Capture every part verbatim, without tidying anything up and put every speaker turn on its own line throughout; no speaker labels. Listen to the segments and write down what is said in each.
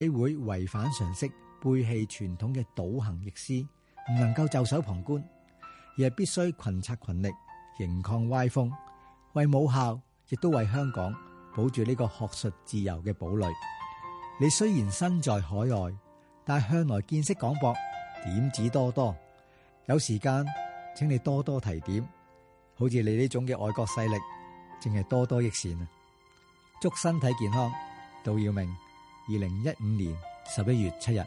會違反常識、背棄傳統嘅倒行逆施，唔能夠袖手旁觀，而係必須群策群力，迎抗歪風，為母校亦都為香港保住呢個學術自由嘅堡壘。你雖然身在海外，但向來見識廣博，點子多多。有時間請你多多提點，好似你呢種嘅外國勢力，淨係多多益善啊！祝身體健康，杜耀明，二零一五年十一月七日。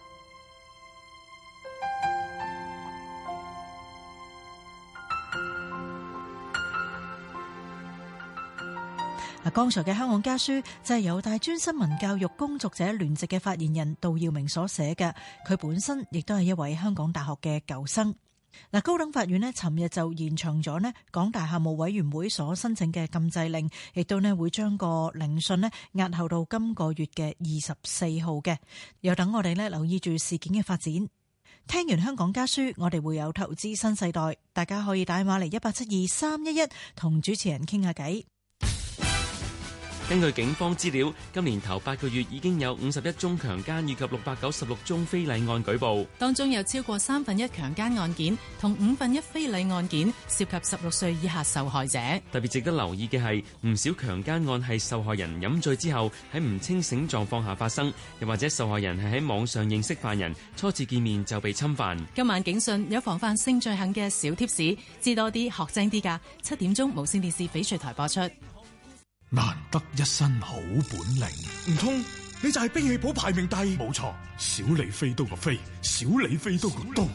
嗱，剛才嘅香港家書就係由大專新聞教育工作者聯席嘅發言人杜耀明所寫嘅，佢本身亦都係一位香港大學嘅舊生。嗱，高等法院呢尋日就延長咗呢港大校務委員會所申請嘅禁制令，亦都呢會將個聆訊呢押後到今個月嘅二十四號嘅。又等我哋呢留意住事件嘅發展。聽完香港家書，我哋會有投資新世代，大家可以打電話嚟一八七二三一一同主持人傾下偈。
根據警方資料，今年頭八個月已經有五十一宗強姦以及六百九十六宗非禮案舉報，
當中有超過三分一強姦案件同五分一非禮案件涉及十六歲以下受害者。
特別值得留意嘅係，唔少強姦案係受害人飲醉之後喺唔清醒狀況下發生，又或者受害人係喺網上認識犯人，初次見面就被侵犯。
今晚警訊有防範性罪行嘅小貼士，知多啲學精啲㗎。七點鐘無線電視翡翠台播出。
難得一身好本領，唔通你就係兵器譜排名第？冇錯，小李飛刀個飛，小李飛刀個刀。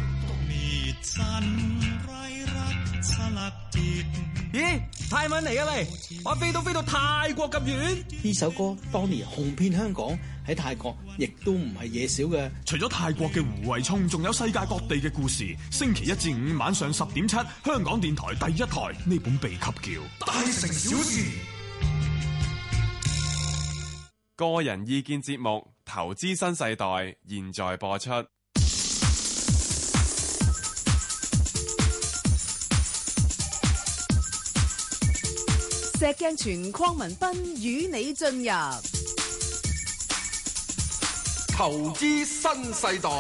咦，泰文嚟啊你！我飛刀飛到泰國咁遠。
呢首歌當年紅遍香港，喺泰國亦都唔係嘢少嘅。
除咗泰國嘅胡慧聰，仲有世界各地嘅故事。星期一至五晚上十點七，香港電台第一台呢本秘笈叫《大城小事》。
個人意見節目《投資新世代》現在播出。
石鏡泉鄺民彬與你進入《
投資新世代》。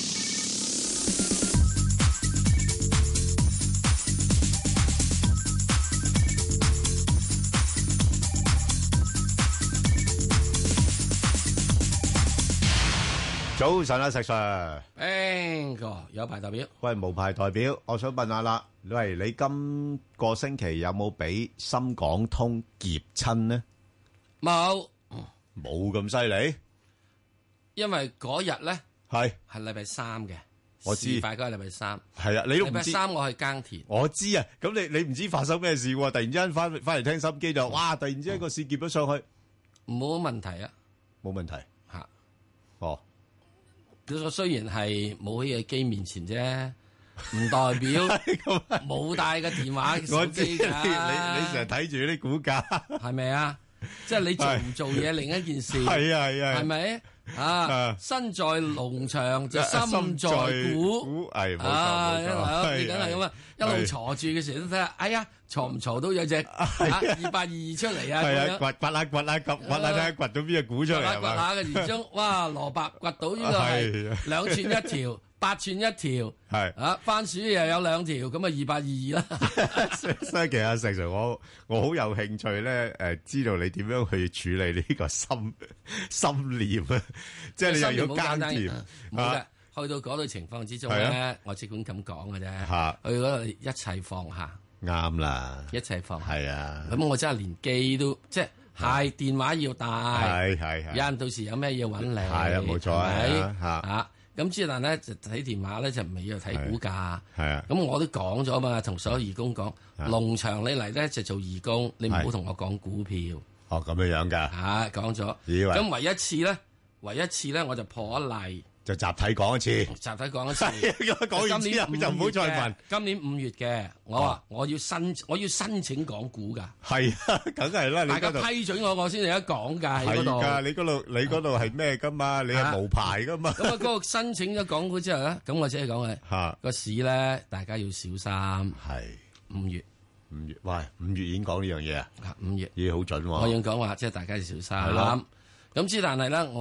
早晨啊，石 Sir。
邊個有牌代表？
喂，無牌代表，我想問下啦，喂，你今個星期有冇俾深港通劫親呢？
冇，
冇咁犀利。
因為嗰日咧
係
係禮拜三嘅，
我知，
事發嗰日禮拜三。
係啊，你都唔知。
禮拜三我去耕田。
我知啊，咁你你唔知發生咩事喎？突然之間翻翻嚟聽心機就，哇！突然之間個市劫咗上去，
冇問題啊，
冇問題
吓。
哦。
佢雖然係冇喺個機面前啫，唔代表冇帶個電話手機㗎。
你你成日睇住啲股價，
係咪啊？即係你做唔做嘢另一件事。
係啊係啊，
係咪啊？身在農場就心在股，
係冇錯
冇錯，你
係
梗係咁啊！一路坐住嘅時候都睇下，哎呀，坐唔坐到有隻二八二二出嚟啊！
係啊，掘掘下掘下掘掘下睇下掘到邊隻股出嚟係嘛？
掘下嘅然中，哇！蘿蔔掘到呢個係兩寸一條，八寸一條，
係啊，
番薯又有兩條，咁啊二八二二啦。
所以其實石 Sir，我我好有興趣咧，誒，知道你點樣去處理呢個心心念啊？即係你又要耕田啊？
去到嗰度情況之中咧，我只管咁講嘅啫。
吓，
去嗰度一切放下，
啱啦，
一切放下。
係啊，
咁我真係連機都即係，係電話要帶，
係係係。
有人到時有咩嘢揾你，
係啊，冇錯啊，吓
吓。咁之但咧就睇電話咧就唔係要睇股價，
係啊。
咁我都講咗嘛，同所有義工講，農場你嚟咧就做義工，你唔好同我講股票。
哦，咁樣樣噶。
吓，講咗。咁唯一次咧，唯一次咧我就破咗例。
就集體講一次，
集體講一次。
講完之後就唔好再問。
今年五月嘅，我話我要申，我要申請港股噶。
係啊，梗係啦。
大家批准我，我先有得講噶喺嗰度。
係噶，你嗰度，你嗰度係咩噶嘛？你係無牌噶嘛？
咁啊，嗰個申請咗港股之後咧，咁我只係講係個市咧，大家要小心。
係
五月，
五月，喂，五月已經講呢樣嘢啊？
五月，
已經好準喎。
我要講話，即係大家要小心。係咯。咁之但係咧，我話。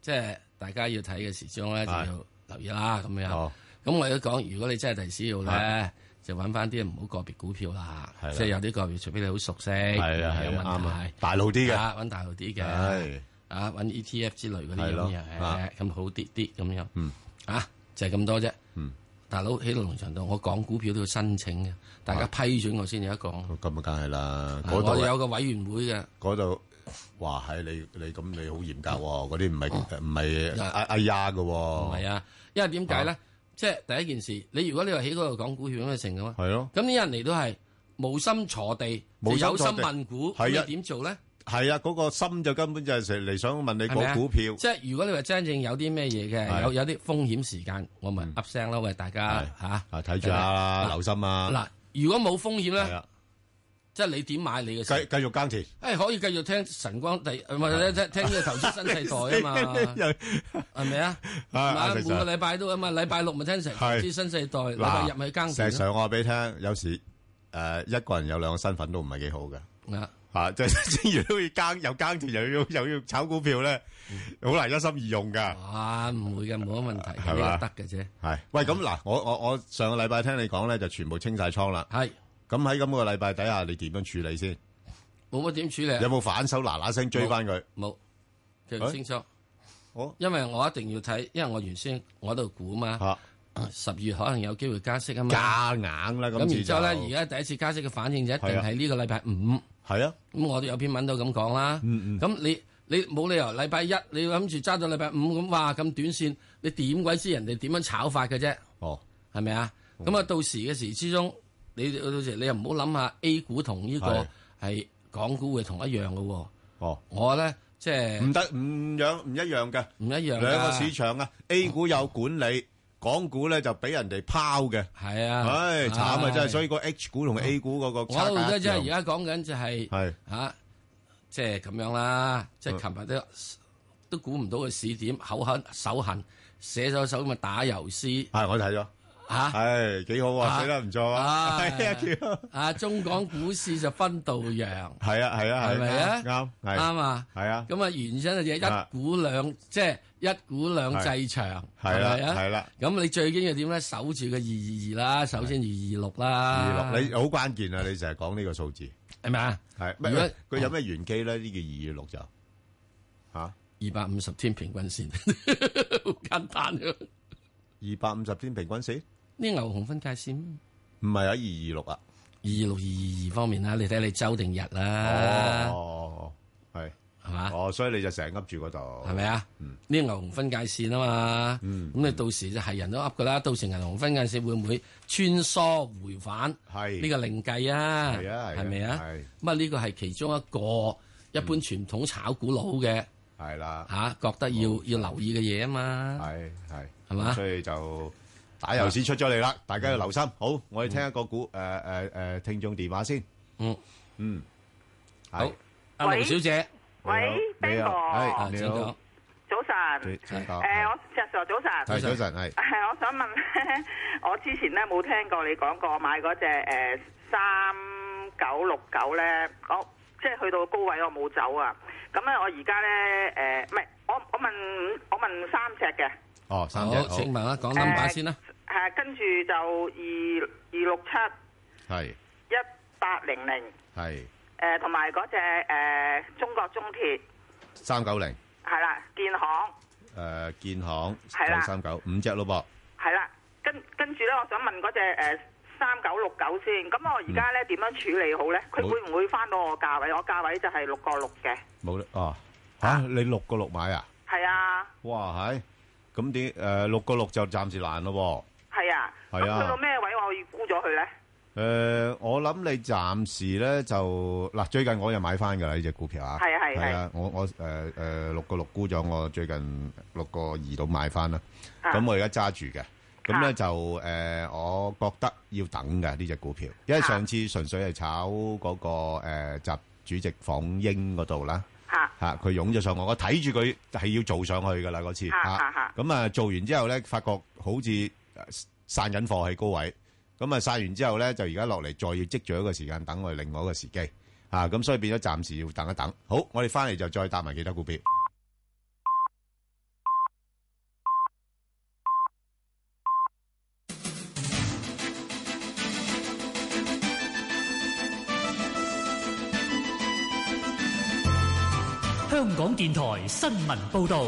即係大家要睇嘅時鐘咧，就要留意啦。咁樣，咁、
哦、
我都講，如果你真係第時要咧，就揾翻啲唔好個別股票啦。即係有啲個別，除非你好熟悉，係啊，有問題，
大路啲嘅，
揾大路啲嘅，啊，揾 E T F 之類嗰啲咁樣，咁好啲啲咁樣。嗯，啊，就係咁多啫。嗯。大佬喺農場度，我講股票都要申請嘅，大家批准我先有得講。咁
啊，梗係啦。
我哋有個委員會嘅。
嗰度，哇！係你你咁你好嚴格喎，嗰啲唔係唔係哎哎呀嘅喎。
唔係啊，因為點解咧？即係第一件事，你如果你話喺嗰度講股票咁嘅成嘅嘛，
係咯。
咁啲人嚟都係無心坐地，有心問股，咁你點做咧？
係啊，嗰個心就根本就係成嚟想問你講股票。
即係如果你話真正有啲咩嘢嘅，有有啲風險時間，我咪噏聲啦，喂大家嚇，
睇住下，留心啊！
嗱，如果冇風險咧，即係你點買你嘅？
繼繼續耕田。
誒，可以繼續聽晨光第唔係聽聽呢個投資新世代啊嘛，係咪啊？啊，每個禮拜都啊嘛，禮拜六咪聽成投資新世代，禮拜日咪去耕田。
實際上我話俾你聽，有時誒一個人有兩個身份都唔係幾好嘅。啊！啊，即係正如都要耕，又耕田，又要又要炒股票咧，好難一心二用噶。
啊，唔會嘅，冇乜問題，係嘛，得嘅啫。
係，喂，咁嗱，我我我上個禮拜聽你講咧，就全部清晒倉啦。
係。咁
喺咁個禮拜底下，你點樣處理先？
冇乜點處理。有
冇反手嗱嗱聲追翻佢？
冇，記清楚。好，因為我一定要睇，因為我原先我喺度估嘛。十月可能有機會加息啊嘛。
加硬啦，咁。
咁然之後咧，而家第一次加息嘅反應就一定係呢個禮拜五。
係啊，
咁我都有篇文都咁講啦。嗯嗯。咁你你冇理由禮拜一你諗住揸到禮拜五咁，哇咁短線，你點鬼知人哋點樣炒法嘅啫？哦，係咪啊？咁啊，到時嘅時之中，你到時你又唔好諗下 A 股同呢個係港股會同一樣嘅喎。哦，我咧即係
唔得唔樣唔一樣嘅，
唔一樣。
兩個市場啊 ，A 股有管理。港股咧就俾人哋拋嘅，
係啊，
唉慘啊真係，所以個 H 股同 A 股嗰個差價一樣。我覺得
即係而家講緊就係嚇，即係咁樣啦，即係琴日都都估唔到個市點，口痕手痕，寫咗首咁嘅打油詩。
係我睇咗嚇，係幾好啊，寫得唔錯啊，係啊叫
啊中港股市就分道揚，
係啊係啊係
咪啊
啱
啱啊係啊，咁啊原因就一股兩即係。一股兩制場，係咪啊？
係啦，
咁你最緊要點咧？守住個二二二啦，首先二二六啦。
二六，你好關鍵啊！你成日講呢個數字，
係咪啊？
係。如果佢有咩玄機咧？呢個二二六就嚇
二百五十天平均線，好簡單嘅。
二百五十天平均線？
呢牛熊分界線？
唔係啊，二二六啊，
二二六二二二方面啦，你睇你周定日啦。
哦，係。
係嘛？
哦，所以你就成日噏住嗰度，
係咪啊？嗯，呢個牛熊分界線啊嘛，嗯，咁你到時就係人都噏噶啦。到時銀行分界線會唔會穿梭回返？係呢個另計啊，係啊，係咪啊？係咁啊，呢個係其中一個一般傳統炒股佬嘅係啦嚇，覺得要要留意嘅嘢啊嘛，係係係嘛？所以就打油詩出咗嚟啦，大家要留心。好，我哋聽一個股誒誒誒聽眾電話先。嗯嗯，好，阿盧小姐。
喂 Ben 哥，
係你好，
早晨，誒，我石 Sir 早晨，
係早晨，係，
係，我想問咧，我之前咧冇聽過你講過買嗰隻誒三九六九咧，我即係去到高位我冇走啊，咁咧我而家咧誒，唔係，我我問我問三隻嘅，哦，三隻，好，請問啦，講 number 先啦，係，跟住就二二六七，係，一八零零，係。誒同埋嗰隻誒中國中鐵三九零係啦，建行誒建行九三九五隻咯噃，係啦，跟跟住咧，我想問嗰隻誒三九六九先，咁我而家咧點樣處理好咧？佢會唔會翻到我價位？我價位就係六個六嘅。冇啦，哦嚇，你六個六買啊？係啊。哇係，咁點誒六個六就暫時難咯喎。係啊。係啊。咁去到咩位我要沽咗佢咧？誒、呃，我諗你暫時咧就嗱，最近我又買翻噶啦呢隻股票啊，係啊係係啊，我我誒誒六個六沽咗，我最近六個二度買翻啦，咁、啊、我而家揸住嘅，咁咧就誒、呃，我覺得要等嘅呢隻股票，因為上次純粹係炒嗰、那個誒習、呃、主席訪英嗰度啦，吓佢湧咗上我，我睇住佢係要做上去噶啦嗰次，吓咁啊做完之後咧，發覺好似散緊貨喺高位。咁啊，曬完之後咧，就而家落嚟，再要積聚一個時間，等我哋另外一個時機，啊，咁所以變咗暫時要等一等。好，我哋翻嚟就再搭埋其他股票。
香港電台新聞報道。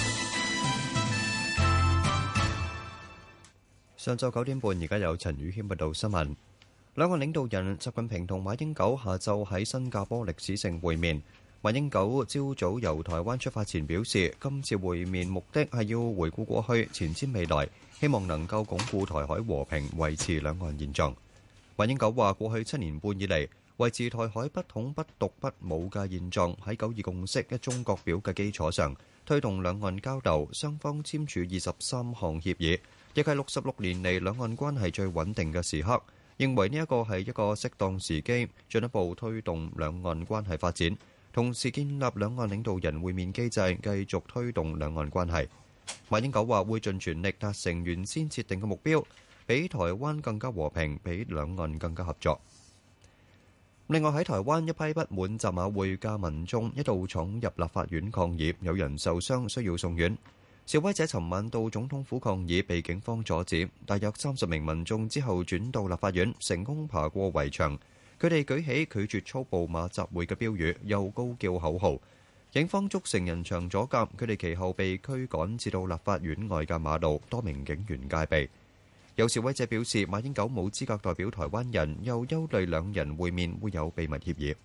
上晝九點半，而家有陳宇軒報道新聞。兩岸領導人習近平同馬英九下晝喺新加坡歷史性會面。馬英九朝早由台灣出發前表示，今次會面目的係要回顧過去，前瞻未來，希望能夠鞏固台海和平，維持兩岸現狀。馬英九話：過去七年半以嚟，維持台海不統不獨不武嘅現狀，喺九二共識一中各表嘅基礎上，推動兩岸交流，雙方簽署二十三項協議，亦係六十六年嚟兩岸關係最穩定嘅時刻。認為呢一個係一個適當時機，進一步推動兩岸關係發展，同時建立兩岸領導人會面機制，繼續推動兩岸關係。馬英九話會盡全力達成原先設定嘅目標，比台灣更加和平，比兩岸更加合作。另外喺台灣，一批不滿習馬會嘅民眾一度闖入立法院抗議，有人受傷需要送院。示威者尋晚到總統府抗議，被警方阻止。大約三十名民眾之後轉到立法院，成功爬過圍牆。佢哋舉起拒絕粗暴馬習會嘅標語，又高叫口號。警方築成人牆阻隔，佢哋其後被驅趕至到立法院外嘅馬路，多名警員戒備。有示威者表示，馬英九冇資格代表台灣人，又憂慮兩人會面會有秘密協議。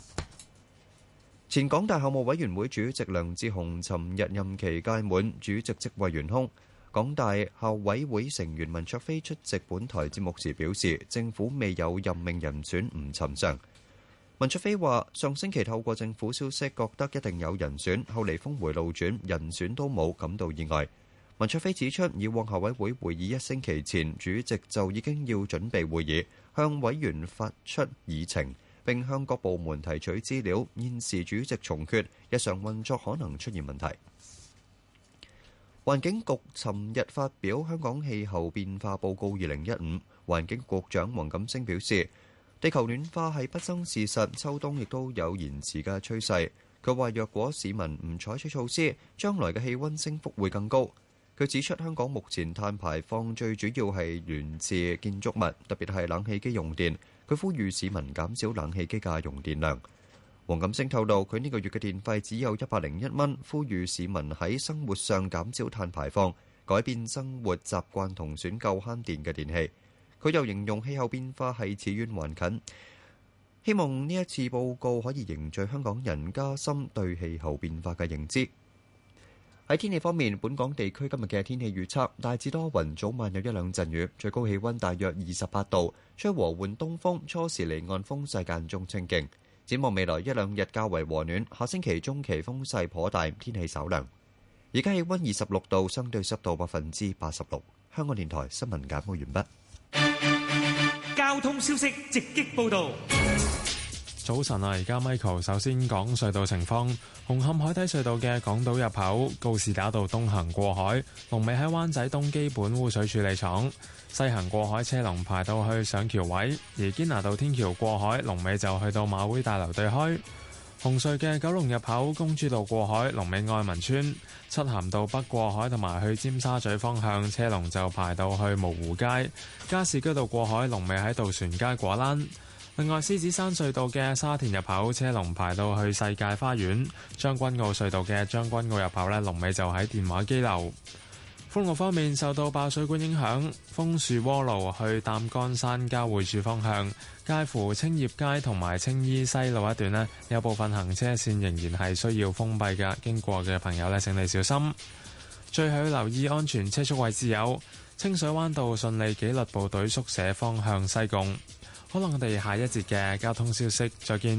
前港大校務委員會主席梁智鴻尋日任期屆滿，主席職位懸空。港大校委會成員文灼非出席本台節目時表示，政府未有任命人選唔尋常。文灼非話：上星期透過政府消息，覺得一定有人選，後嚟峰迴路轉，人選都冇，感到意外。文灼非指出，以往校委會會議一星期前，主席就已經要準備會議，向委員發出議程，並向各部門提取資料。現時主席重缺，日常運作可能出現問題。環境局尋日發表《香港氣候變化報告二零一五》，環境局長黃錦星表示，地球暖化係不爭事實，秋冬亦都有延遲嘅趨勢。佢話：若果市民唔採取措施，將來嘅氣温升幅會更高。佢指出，香港目前碳排放最主要係源自建築物，特別係冷氣機用電。佢呼籲市民減少冷氣機嘅用電量。黃錦星透露，佢呢個月嘅電費只有一百零一蚊，呼籲市民喺生活上減少碳排放，改變生活習慣同選購慳電嘅電器。佢又形容氣候變化係似遠還近，希望呢一次報告可以凝聚香港人加深對氣候變化嘅認知。喺天氣方面，本港地區今日嘅天氣預測大致多雲，早晚有一兩陣雨，最高氣溫大約二十八度，吹和緩東風，初時離岸風勢間中清勁。展望未來一兩日較為和暖，下星期中期風勢頗大，天氣稍涼。而家氣溫二十六度，相對濕度百分之八十六。香港電台新聞簡報完畢。
交通消息直擊報道。
早晨啊，而家 Michael 首先講隧道情況。紅磡海底隧道嘅港島入口告士打道東行過海，龍尾喺灣仔東基本污水處理廠；西行過海車龍排到去上橋位，而堅拿道天橋過海龍尾就去到馬會大樓對開。紅隧嘅九龍入口公主道過海龍尾愛民村，漆咸道北過海同埋去尖沙咀方向車龍就排到去蕪湖街。加士居道過海龍尾喺渡船街果欄。另外，獅子山隧道嘅沙田入口車龍排到去世界花園，將軍澳隧道嘅將軍澳入口呢，龍尾就喺電話機樓。封路方面，受到爆水管影響，楓樹窩路去擔桿山交匯處方向，介乎青葉街同埋青衣西路一段呢，有部分行車線仍然係需要封閉嘅，經過嘅朋友呢，請你小心。最後要留意安全車速位置有清水灣道順利紀律部隊宿舍方向西貢。可能我哋下一節嘅交通消息再見。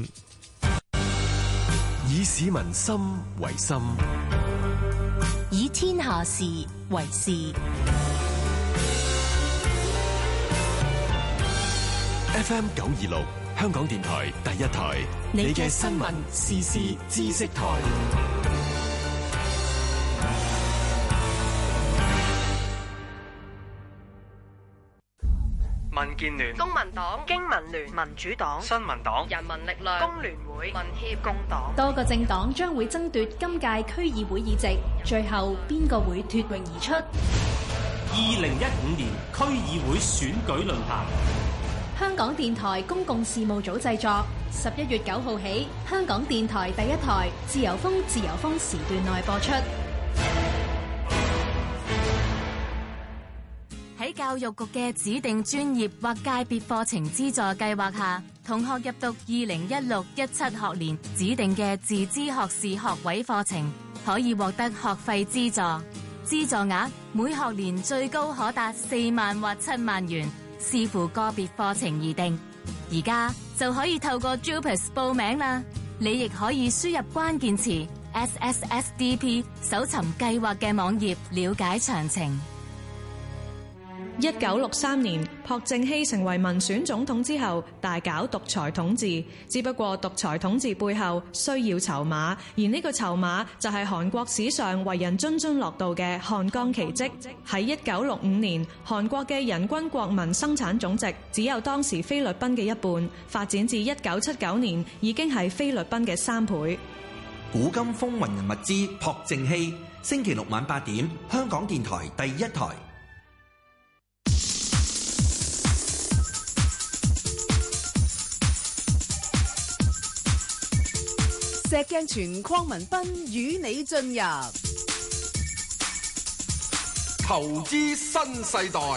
以市民心為心，
以天下事為事。
F M 九二六香港電台第一台，你嘅新聞時事知識台。
民建聯、
公民黨、經民聯、民主黨、
新民黨、
人民力量、工聯會、民協、工黨，
多個政黨將會爭奪今屆區議會議席，最後邊個會脫穎而出？
二零一五年區議會選舉論壇，
香港電台公共事務組製作， 十一月九號起，香港電台第一台自由風自由風時段內播出。
喺教育局嘅指定專業或界別課程資助計劃下，同學入讀二零一六一七學年指定嘅自資學士學位課程，可以獲得學費資助。資助額每學年最高可達四萬或七萬元，視乎個別課程而定。而家就可以透過 JUPAS 報名啦。你亦可以輸入關鍵詞 S S S D P 搜尋計劃嘅網頁，了解詳情。
一九六三年，朴正熙成為民選總統之後，大搞獨裁統治。只不過獨裁統治背後需要籌碼，而呢個籌碼就係韓國史上為人津津樂道嘅漢江奇蹟。喺一九六五年，韓國嘅人均國民生產總值只有當時菲律賓嘅一半，發展至一九七九年已經係菲律賓嘅三倍。
古今風雲人物之朴正熙，星期六晚八點，香港電台第一台。
石鏡泉鄺民彬與你進入
投資新世代。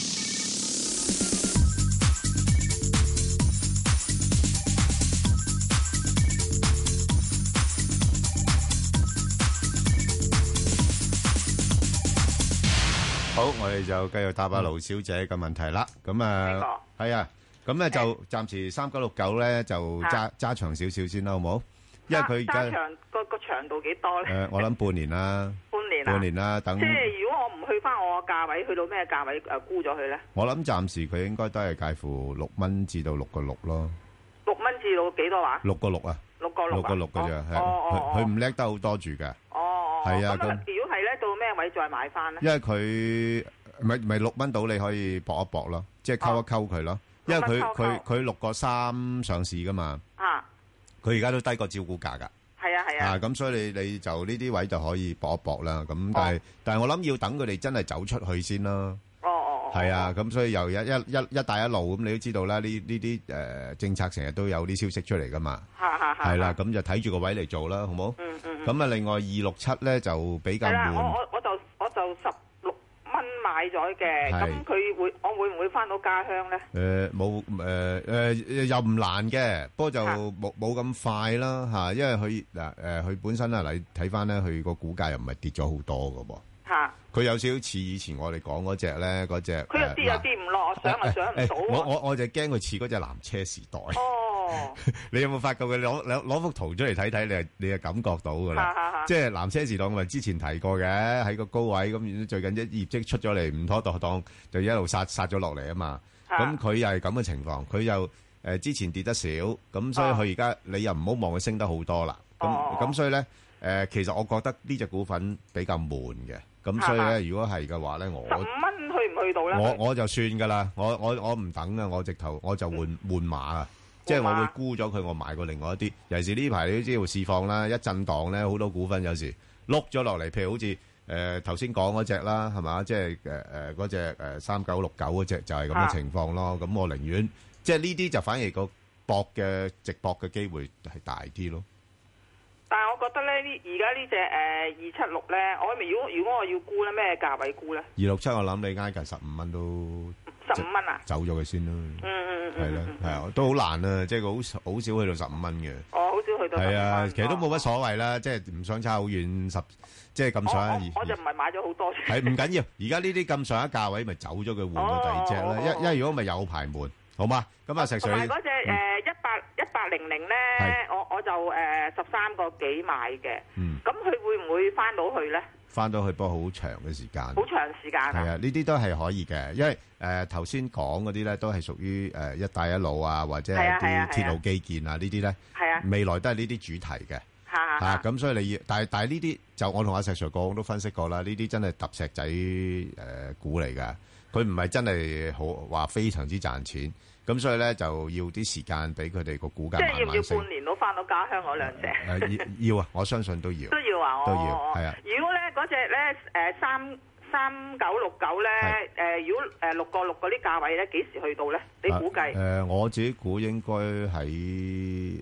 好，我哋就繼續答下盧小姐嘅問題啦。咁啊，係啊，咁咧就暫時三九六九咧就揸揸長少少先啦，好冇？因為佢而家
揸長個個長度幾多咧？
誒，我諗半年啦，
半年啊，
半年啦，等。
即係如果我唔去翻我個價位，去到咩價位誒沽咗佢咧？
我諗暫時佢應該都係介乎六蚊至到六個六咯。
六蚊至到幾多話？
六個六啊！
六個六
六個六嘅啫，係佢佢唔叻得好多住嘅。
哦哦，
係啊。
咁如果係咧，到咩位再買翻咧？
因為佢咪咪六蚊到，你可以搏一搏咯，即係溝一溝佢咯。因為佢佢佢六個三上市噶嘛。啊！佢而家都低過招股價㗎。
係啊係啊，
啊咁所以你你就呢啲位就可以搏一搏啦。咁但係、哦、但係我諗要等佢哋真係走出去先啦。
哦哦
係啊，咁所以又一一一一帶一路咁，你都知道啦。呢呢啲誒政策成日都有啲消息出嚟噶嘛。
係係係。
係啦，咁就睇住個位嚟做啦，好冇？
嗯嗯。
咁啊，另外二六七咧就比較悶。
係啦，我我我就我就十六蚊買咗嘅，咁佢會我會唔會翻到家鄉咧？
誒冇誒誒又唔難嘅，不過就冇冇咁快啦嚇，因為佢嗱誒佢本身啊，你睇翻咧，佢個股價又唔係跌咗好多嘅噃。嚇！佢有少少似以前我哋講嗰隻咧，嗰隻
佢又跌又跌唔落，我想又想唔到。
我我我就驚佢似嗰隻藍車時代。哦！你有冇發覺佢攞攞攞幅圖出嚟睇睇？你係你係感覺到㗎啦。即係藍車時代，我咪之前提過嘅，喺個高位咁，最近一業績出咗嚟唔妥當當，就一路殺殺咗落嚟啊嘛。咁佢又係咁嘅情況，佢又誒之前跌得少，咁所以佢而家你又唔好望佢升得好多啦。咁咁所以咧誒，其實我覺得呢隻股份比較悶嘅。咁所以咧，如果係嘅話咧，我
十五蚊去唔去到咧？
我我就算噶啦，我我我唔等啊，我直頭我就換換馬啊，即係我會沽咗佢，我買過另外一啲。尤其是呢排你都知道市況啦，一震盪咧，好多股份有時碌咗落嚟，譬如好似誒頭先講嗰隻啦，係嘛？即係誒誒嗰隻誒三九六九嗰隻就係咁嘅情況咯。咁我寧願即係呢啲就反而個博嘅直博嘅機會係大啲咯。
但係我覺得咧，呢而家呢隻誒二七六咧，我咪如果如果我要沽咧，咩價位沽咧？二
六七我諗你挨近十五蚊都
十五蚊啊？
走咗佢先啦。嗯嗯嗯，係啦，係啊，都好難啊，即係好好少去到十五蚊嘅。
哦，好少去到。
係啊，其實都冇乜所謂啦，即係唔想差好遠十，即係咁上下。
我我就唔係買咗好多。
係唔緊要，而家呢啲咁上下價位，咪走咗佢換個第二隻啦。一因為如果咪有排悶，好嘛？咁啊，石水。
同埋嗰隻誒一八一八零零咧，我我就誒十三個幾買嘅。嗯。咁佢會唔會翻到去咧？翻到去不過好長嘅時間。好長時間。係啊，呢啲都係可以嘅，因為誒頭先講嗰啲咧都係屬於誒一帶一路啊，或者係啲鐵路基建啊呢啲咧。係啊。未來都係呢啲主題嘅。嚇嚇。咁所以你要，但係但係呢啲就我同阿石 Sir 講都分析過啦，呢啲真係揼石仔誒股嚟㗎，佢唔係真係好話非常之賺錢。咁所以咧就要啲時間俾佢哋個股價慢慢升。即係要唔要半年都翻到家鄉嗰兩隻？誒要要啊！我相信都要。都要啊！都要係啊！如果咧嗰隻咧誒三三九六九咧誒，如果誒六個六嗰啲價位咧，幾時去到咧？你估計？誒我自己估應該喺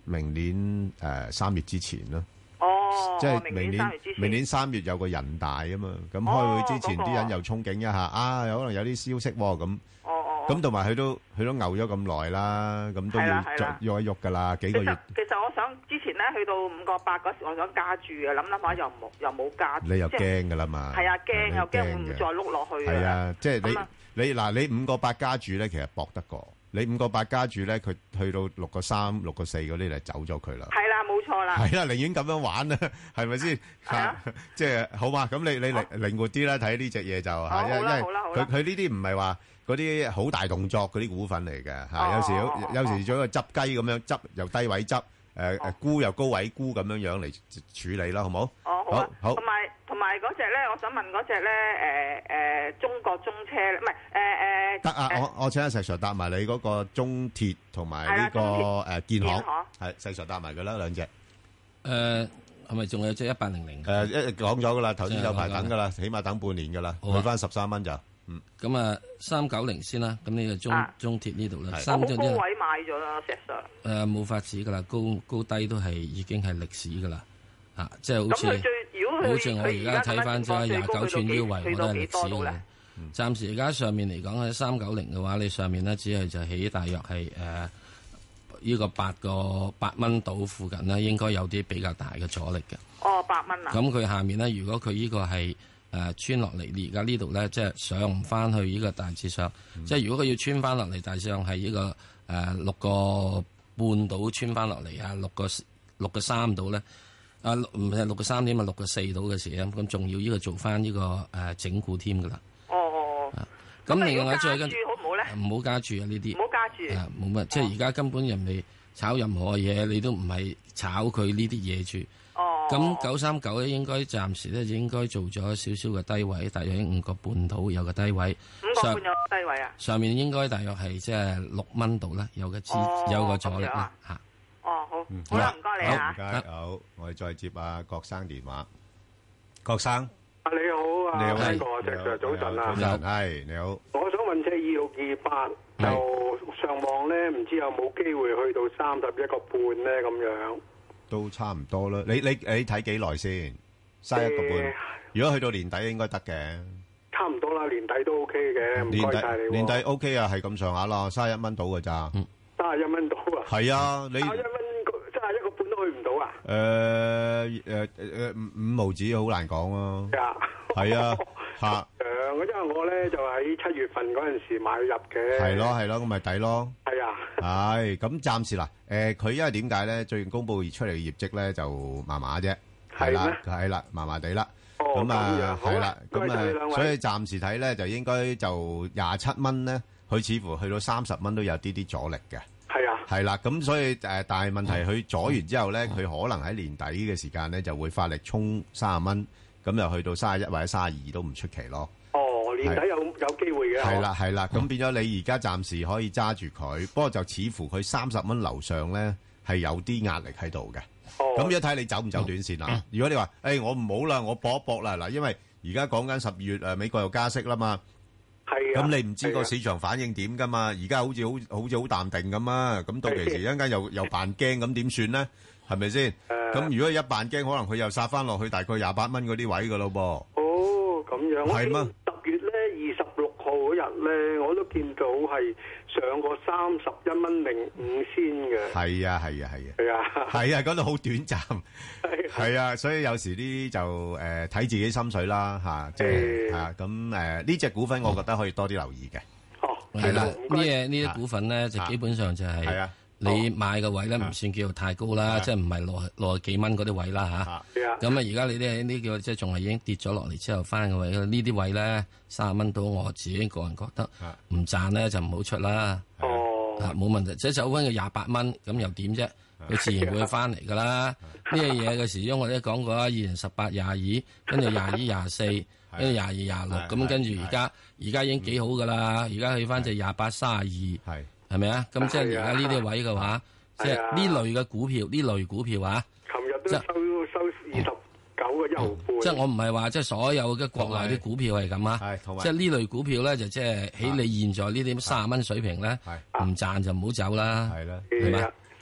明年誒三月之前咯。
哦，
即係明年
明
明年三月有個人大啊嘛，咁開會之前啲人又憧憬一下，啊有可能有啲消息喎咁。咁同埋佢都佢都牛咗咁耐啦，咁都要喐一喐噶啦，幾個月。
其實我想之前咧去到五個八嗰時，我想加注嘅，諗諗下又冇又冇加。
你又驚噶啦嘛？
係啊，驚又驚會唔會再碌落去？
係啊，即係你你嗱，你五個八加注咧，其實搏得過。你五個八加注咧，佢去到六個三、六個四嗰啲就走咗佢啦。
係啦，冇錯啦。
係啦，寧願咁樣玩啦，係咪先？即係好嘛？咁你你靈靈活啲啦，睇呢隻嘢就嚇，因為因為佢佢呢啲唔係話嗰啲好大動作嗰啲股份嚟嘅嚇，有時有時做一個執雞咁樣執，由低位執，誒誒沽又高位沽咁樣樣嚟處理啦，好冇？
哦，好啊，好。同埋同埋嗰隻咧，我想問嗰隻咧，誒誒中國中車唔係誒誒。
得啊！我我請阿石 Sir 答埋你嗰個中鐵同埋呢個誒建行，係石 Sir 答埋佢啦兩隻。
誒係咪仲有隻一八零零？
誒一講咗噶啦，頭先有排等噶啦，起碼等半年噶啦，去翻十三蚊就。嗯，
咁啊，三九零先啦，咁呢個中中鐵呢度咧，
三高位買咗啦，石 Sir。
誒冇法子噶啦，高高低都係已經係歷史噶啦，啊，即係好似好似我而家睇翻咗廿九寸腰圍，我都係歷史嘅。暫時而家上面嚟講喺三九零嘅話，你上面咧只係就起大約係誒呢個八個八蚊度附近咧，應該有啲比較大嘅阻力嘅。
哦，八蚊啊！
咁佢下面咧，如果佢呢個係誒穿落嚟，而家呢度咧，即係上唔翻去呢個大致上，嗯、即係如果佢要穿翻落嚟，大致上係呢、這個誒、呃、六個半度穿翻落嚟啊，六個六個三度咧，啊唔係六個三點啊，六個四度嘅時候，咁仲要呢個做翻呢、這個誒、呃、整固添噶啦。
哦哦哦。
咁、啊、另外再跟
好唔好咧？
唔好加注啊！呢啲
唔好加注。
啊，冇乜，即係而家根本人哋炒任何嘢，你都唔係炒佢呢啲嘢住。
哦。
咁九三九咧，應該暫時咧就應該做咗少少嘅低位，大約喺五個半度有個低位。
五個半有個低位啊？
上面應該大約係即係六蚊度啦，有個支、哦、有個阻力啦嚇。
哦，好，嗯、好啦，唔該你啊。
唔該，好，我哋再接阿郭生電話。郭生。
啊，你好啊，
你好，
邊個？石 Sir 早晨啊，
早晨，係你好。
我想問隻二六二八就上望咧，唔知有冇機會去到三十一個半咧？咁樣
都差唔多啦。你你你睇幾耐先？三十一個半。如果去到年底應該得嘅。
差唔多啦，年底都 OK 嘅。唔該晒你。
年底 OK 啊，係咁上下啦，三十一蚊到㗎咋。
三十一蚊到啊。
係啊，你。三十一蚊，
三十一個半都去唔到啊？
誒誒誒，五五毫子好難講咯。係啊，嚇。
誒，因為我咧就喺七月份嗰陣時買入嘅。
係咯係咯，咁咪抵咯。
係啊。
係，咁暫時嗱，誒，佢因為點解咧？最近公佈出嚟嘅業績咧就麻麻啫。係啦，係啦，麻麻地啦。哦。咁啊，係啦，咁啊，所以暫時睇咧就應該就廿七蚊咧，佢似乎去到三十蚊都有啲啲阻力嘅。
係啊。
係啦，咁所以誒，但係問題佢阻完之後咧，佢可能喺年底嘅時間咧就會發力衝三十蚊。咁又去到三十一或者三十二都唔出奇咯。
哦，年底有有機會嘅。係
啦係啦，咁變咗你而家暫時可以揸住佢，不過就似乎佢三十蚊樓上咧係有啲壓力喺度嘅。哦。咁一睇你走唔走短線啦。如果你話誒我唔好啦，我搏一搏啦嗱，因為而家講緊十二月誒美國又加息啦嘛。
係啊。
咁你唔知個市場反應點㗎嘛？而家好似好好似好淡定咁啊。咁到期時一陣間又又扮驚咁點算咧？係咪先？咁如果一扮驚，可能佢又殺翻落去大概廿八蚊嗰啲位噶咯噃。
哦，咁樣。
係嗎？
十月咧二十六號嗰日咧，我都見到係上過三十一蚊零五仙嘅。係啊，係啊，係啊。係啊。係啊，嗰度好短暫。係。係啊，所以有時呢啲就誒睇自己心水啦嚇，即係嚇咁誒呢隻股份，我覺得可以多啲留意嘅。哦。
係啦，呢嘢呢啲股份咧就基本上就係。係啊。你買嘅位咧唔算叫做太高啦，即係唔係六六十幾蚊嗰啲位啦嚇。咁啊，而家你啲呢叫即係仲係已經跌咗落嚟之後翻嘅位，呢啲位咧三十蚊到，我自己個人覺得唔賺咧就唔好出啦。哦，冇問題，即係走翻個廿八蚊，咁又點啫？佢自然會翻嚟噶啦。呢樣嘢嘅時鐘我都講過啦，二零十八廿二，跟住廿二廿四，跟住廿二廿六，咁跟住而家而家已經幾好噶啦。而家去翻就廿八三十二。係。係咪啊？咁即係而家呢啲位嘅話，即係呢類嘅股票，呢類股票啊。
琴日都收收二十九個一毫半。
即係我唔係話即係所有嘅國內啲股票係咁啊。即係呢類股票咧，就即係喺你現在呢啲三十蚊水平咧，唔賺就唔好走啦。係啦，係嘛？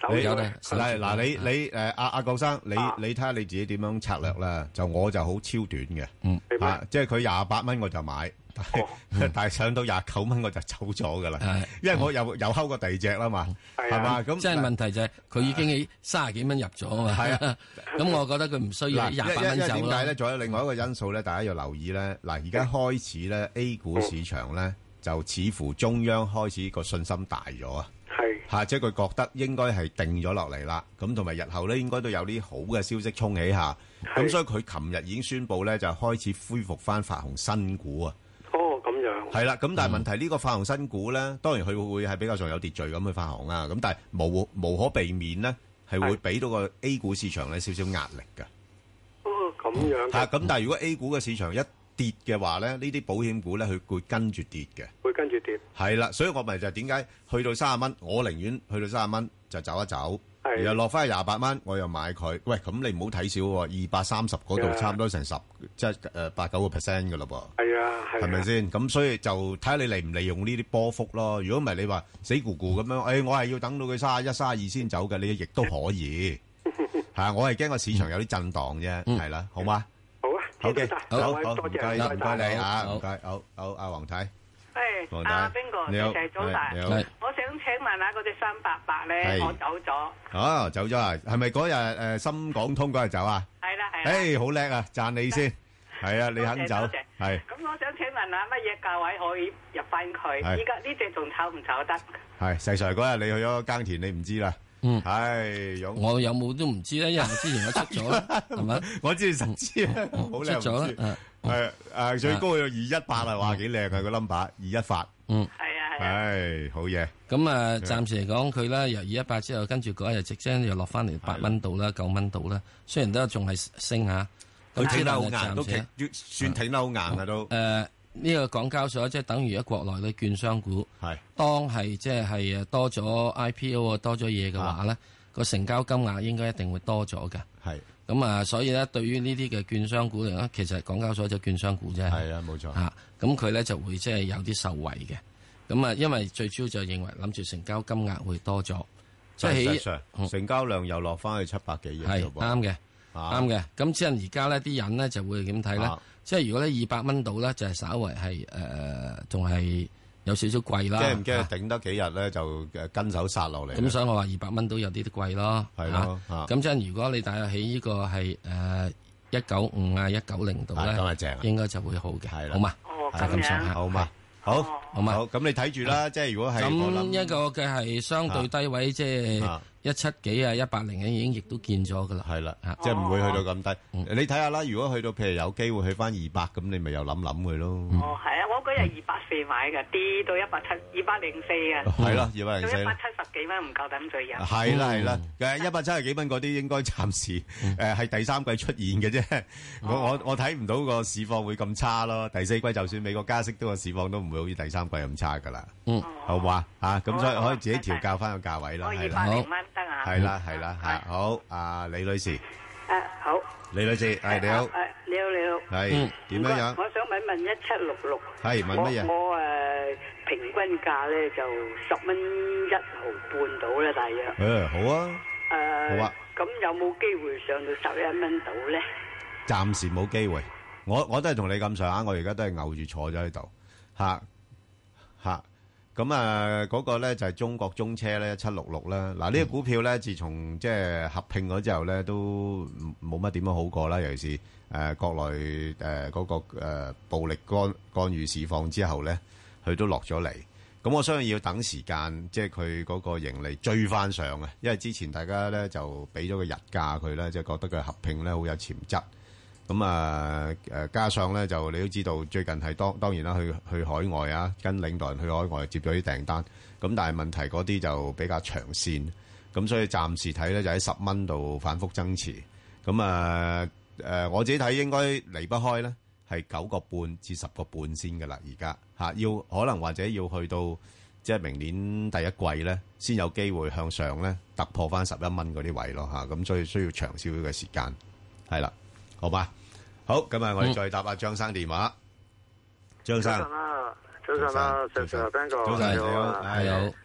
你嗱嗱你你誒阿阿郭生，你你睇下你自己點樣策略啦。就我就好超短嘅，
嗯
啊，即係佢廿八蚊我就買，但係但係上到廿九蚊我就走咗噶啦，因為我又又睺過第二隻啦嘛，係嘛咁。
即係問題就係佢已經喺三十幾蚊入咗啊嘛。係啊，咁我覺得佢唔需要廿八蚊走咯。
點解咧？仲有另外一個因素咧，大家要留意咧。嗱，而家開始咧 A 股市場咧，就似乎中央開始個信心大咗啊。嚇！即係佢覺得應該係定咗落嚟啦，咁同埋日後咧應該都有啲好嘅消息衝起下，咁所以佢琴日已經宣布咧就開始恢復翻發行新股啊。
哦，咁樣。
係啦，咁但係問題呢個發行新股咧，當然佢會係比較上有秩序咁去發行啊，咁但係無無可避免咧係會俾到個 A 股市場咧少少壓力㗎。
哦，咁樣。
嚇！咁但係如果 A 股嘅市場一跌嘅話咧，呢啲保險股咧佢會跟住跌嘅。
會跟住跌。係
啦，所以我咪就係點解去到三十蚊，我寧願去到三十蚊就走一走，然後落翻去廿八蚊，我又買佢。喂，咁你唔好睇少喎，二百三十嗰度差唔多成十，即係誒八九個 percent 嘅咯噃。
係啊，係。係咪
先？咁所以就睇下你利唔利用呢啲波幅咯。如果唔係你話死咕咕咁樣，誒我係要等到佢三十一、三十二先走嘅，你亦都可以。係啊，我係驚個市場有啲震盪啫，係啦，好嗎？
好啊，
好嘅，好好，
多謝，
唔該你啊，唔該，好好，阿黃太。
誒，阿邊個？
你好，
謝早大。
你好。
我想請問下嗰隻三八八咧，我走咗。
哦，走咗啊？係咪嗰日誒深港通嗰日走啊？
係啦係啦。
誒，好叻啊！讚你先。係啊，你肯走。係。
咁我想請問下乜嘢價位可以入翻佢？依家呢隻仲炒唔炒得？
係，細 Sir 嗰日你去咗耕田，你唔知啦。
嗯，
係，
我有冇都唔知咧，因為我之前我出咗啦，係咪？
我知你實知啊，好靚，
出咗啦，
係誒最高有二一八啊，哇幾靚啊個 number，二一八，
嗯，
係啊係
啊，係好嘢。
咁啊，暫時嚟講佢咧由二一八之後，跟住嗰一日直升又落翻嚟八蚊度啦，九蚊度啦，雖然都仲係升下，
佢挺得好硬，都挺算挺得好硬啊都。
誒。呢個港交所即係等於喺國內嘅券商股，
係
當係即係係多咗 I P O 啊多咗嘢嘅話咧，個成交金額應該一定會多咗嘅。
係
咁啊，所以咧對於呢啲嘅券商股嚟講，其實港交所就券商股啫。
係啊，冇錯。
嚇，咁佢咧就會即係有啲受惠嘅。咁啊，因為最主要就認為諗住成交金額會多咗，即係
起成交量又落翻去七百幾億。
係啱嘅，啱嘅。咁即係而家呢啲人咧就會點睇咧？即係如果咧二百蚊到咧，就係稍為係誒，仲、呃、係有少少貴啦。
驚唔驚頂得幾日咧，就誒跟手殺落嚟？
咁所以我話二百蚊到有啲啲貴咯。
係咯，
咁即係如果你大約喺呢個係誒一九五啊一九零度咧，
咁係正，
應該就會好嘅。係
啦，
好嘛？
哦，
咁樣，
上下好嘛？好，好嘛？好，咁你睇住啦。即係如果係
咁一個嘅係相對低位，即係。一七幾啊，一八零已經亦都見咗噶啦，
係啦，即係唔會去到咁低。你睇下啦，如果去到譬如有機會去翻二百，咁你咪又諗諗佢咯。
哦，係啊，我嗰日二百四買嘅，跌到一百七，二百零四啊。
係咯，二百零四。
一百七十幾蚊唔夠膽再入。
係啦係啦，誒一百七十幾蚊嗰啲應該暫時誒係第三季出現嘅啫。我我我睇唔到個市況會咁差咯。第四季就算美國加息，都個市況都唔會好似第三季咁差噶啦。
嗯，
好嘛嚇，咁所以可以自己調教翻個價位啦。
係啦，好。
係啦係啦係好，阿李女士。
誒好。
李女士，係你好。
誒你好你好。
係點樣樣？
我想問問一七六六。
係問乜嘢？
我我誒平均價咧就十蚊一毫半到啦，大約。
誒好啊。
誒
好啊。
咁有冇機會上到十一蚊到咧？
暫時冇機會。我我都係同你咁上下，我而家都係牛住坐咗喺度嚇嚇。咁啊，嗰個咧就係中國中車咧，一七六六啦。嗱，呢個股票咧，自從即係合併咗之後咧，都冇乜點樣好過啦。尤其是誒國內誒嗰個誒暴力干干預市況之後咧，佢都落咗嚟。咁我相信要等時間，即係佢嗰個盈利追翻上啊。因為之前大家咧就俾咗個日價佢咧，即係覺得佢合併咧好有潛質。咁啊誒，加上咧就你都知道，最近係當當然啦，去去海外啊，跟領導人去海外接咗啲訂單。咁但係問題嗰啲就比較長線，咁所以暫時睇咧就喺十蚊度反覆增持。咁啊誒，我自己睇應該離不開咧係九個半至十個半先㗎啦。而家嚇要可能或者要去到即係明年第一季咧，先有機會向上咧突破翻十一蚊嗰啲位咯嚇。咁所以需要長少少嘅時間，係啦，好吧？好，咁啊，我哋再答阿張生電話。張生，
早晨啦，早晨啦，石 Sir 邊個？
早晨，你好，係好。
誒，我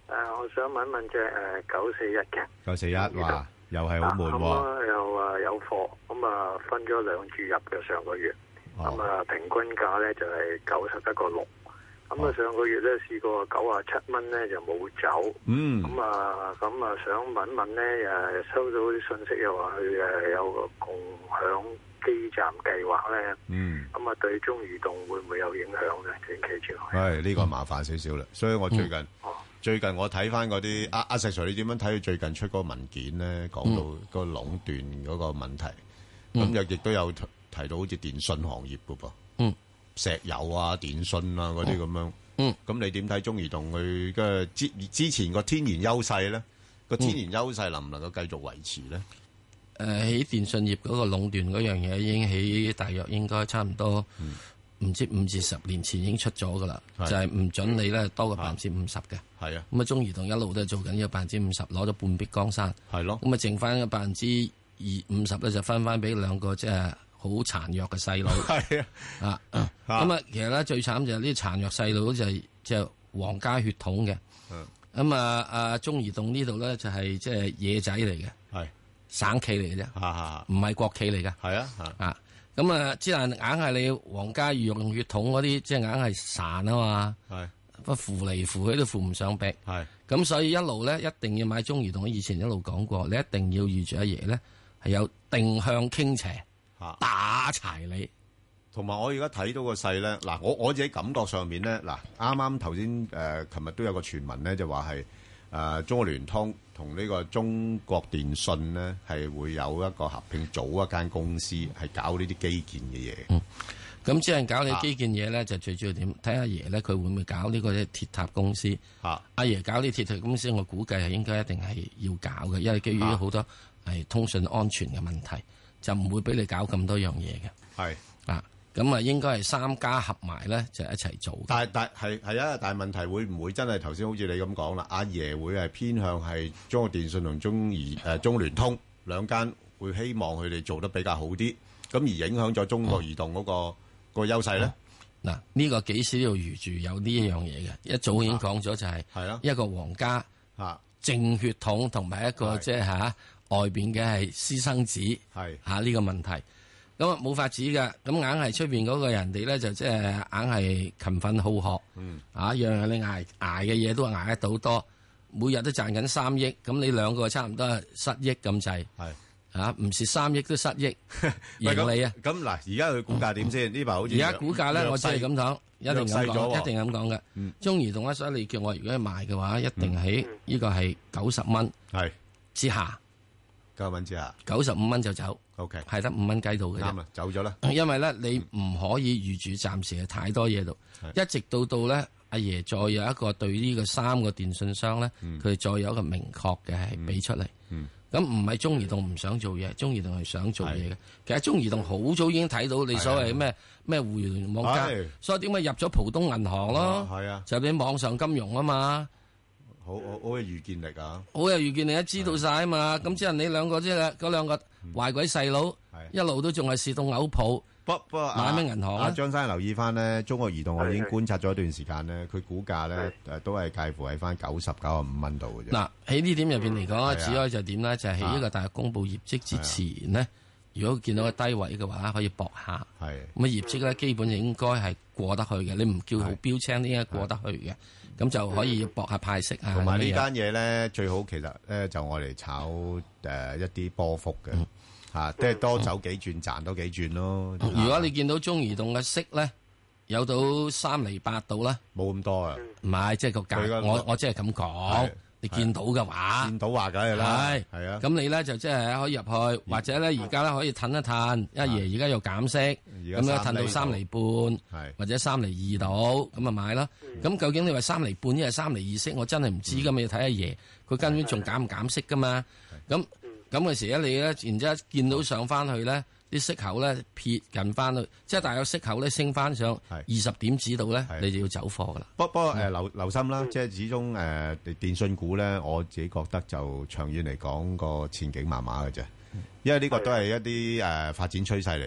我想問一問隻誒九四一嘅。
九四一，哇，又係好悶喎。
咁啊又啊有貨，咁啊分咗兩注入嘅上個月，咁啊平均價咧就係九十一個六。咁啊上個月咧試過九啊七蚊咧就冇走。嗯。咁啊咁啊想問一問咧誒收到啲信息又話佢誒有個共享基站計劃咧。嗯。咁啊對中移動會唔會有影響咧？短期之內。
係呢個麻煩少少啦，所以我最近。最近我睇翻嗰啲阿阿石 Sir，你點樣睇佢最近出嗰個文件咧？講到個壟斷嗰個問題，咁又亦都有提到好似電信行業噶噃，嗯，石油啊、電信啊嗰啲咁樣，嗯，咁你點睇中移動佢嘅之之前個天然優勢咧？個天然優勢能唔能夠繼續維持咧？
誒喺電信業嗰個壟斷嗰樣嘢已經喺大約應該差唔多。唔知五至十年前已經出咗噶啦，就係唔准你咧多過百分之五十嘅。係啊，咁啊中移動一路都係做緊呢個百分之五十，攞咗半壁江山。係咯，咁啊剩翻嘅百分之二五十咧就分翻俾兩個即係好殘弱嘅細路。係啊，啊咁啊其實咧最慘就係呢啲殘弱細路就係即係皇家血統嘅。咁啊啊中移動呢度咧就係即係野仔嚟嘅，係省企嚟嘅啫，唔係國企嚟嘅。係啊，啊。咁啊，之但硬係你皇家御用血統嗰啲，即係硬係孱啊嘛，係不扶嚟扶去都扶唔上壁，係咁所以一路咧一定要買中移動。以前一路講過，你一定要預住阿爺咧係有定向傾斜，打柴你。
同埋我而家睇到個勢咧，嗱我我自己感覺上面咧，嗱啱啱頭先誒，琴日都有個傳聞咧，就話係誒中國聯通同呢個中國電信咧係會有一個合併組一間公司，係搞呢啲基建嘅嘢。
嗯，咁即係搞你基建嘢咧，啊、就最主要點睇阿爺咧，佢會唔會搞呢個鐵塔公司？啊、阿爺搞呢鐵塔公司，我估計係應該一定係要搞嘅，因為基於好多係通訊安全嘅問題，就唔會俾你搞咁多樣嘢嘅。係啊。咁啊，應該係三家合埋咧，就一齊做。
但係但係係啊，但係問題會唔會真係頭先好似你咁講啦？阿爺會係偏向係中國電信同中移誒中聯通兩間，會希望佢哋做得比較好啲，咁而影響咗中國移動嗰個、嗯、個優勢咧？
嗱、嗯，呢、這個幾時都要預住有呢一樣嘢嘅，一早已經講咗就係係啊一個皇家啊正血統同埋一個即係嚇外邊嘅係私生子係嚇呢個問題。咁啊冇法子嘅，咁硬係出邊嗰個人哋咧就即係硬係勤奮好學，嗯、啊樣樣你捱捱嘅嘢都係捱得到多，每日都賺緊三億，咁你兩個差唔多係失億咁滯，係啊唔蝕三億都失億盈利啊！
咁嗱，而家佢股價點先？呢排好似
而家股價咧，我只係咁講，一定咁講，一定咁講嘅。嗯、中移動咧，所以你叫我如果去賣嘅話，一定喺呢個係九十蚊係之下。
九十蚊之下，
九十五蚊就走。
O K，
係得五蚊雞到嘅啫。
啱啦，走咗啦。
因為咧，你唔可以預住暫時係太多嘢度，一直到到咧，阿爺再有一個對呢個三個電信商咧，佢、嗯、再有一個明確嘅係俾出嚟。咁唔係中移動唔想做嘢，中移動係想做嘢嘅。其實中移動好早已經睇到你所謂咩咩互聯網加，所以點解入咗浦東銀行咯？係啊，就係網上金融啊嘛。
好好好有預見力啊！
好有預見力，知道晒啊嘛！咁即係你兩個即係嗰兩個壞鬼細佬，一路都仲係市動嘔泡。
不不
買咩銀行
啊？張生留意翻咧，中國移動我已經觀察咗一段時間咧，佢股價咧誒都係介乎喺翻九十九十五蚊度嘅啫。嗱喺呢點入邊嚟講，只可以就點咧？就係喺呢個大約公佈業績之前咧，如果見到個低位嘅話，可以搏下。係咁啊，業績咧基本就應該係過得去嘅。你唔叫好標青，應該過得去嘅。咁就可以搏下派息啊！同埋呢單嘢咧，最好其實咧就我嚟炒誒一啲波幅嘅嚇，即係多走幾轉賺多幾轉咯。
如果你見到中移動嘅息咧有到三厘八度啦，
冇咁多啊，
唔係即係個價，我我即係咁講。你見到嘅話，
見到話梗係啦，係係啊。
咁你咧就即係可以入去，或者咧而家咧可以褪一褪，一爺而家又減息，咁樣褪到三厘半，或者三厘二度，咁啊買啦。咁究竟你話三厘半，一係三厘二息，我真係唔知噶嘛。要睇阿爺，佢根本仲減唔減息噶嘛。咁咁嘅時咧，你咧然之後見到上翻去咧，啲息口咧撇近翻去，即係大約息口咧升翻上二十點子度咧，你就要走貨噶啦。
不不過誒留留心啦，即係始終誒電信股咧，我自己覺得就長遠嚟講個前景麻麻嘅啫，因為呢個都係一啲誒發展趨勢嚟嘅。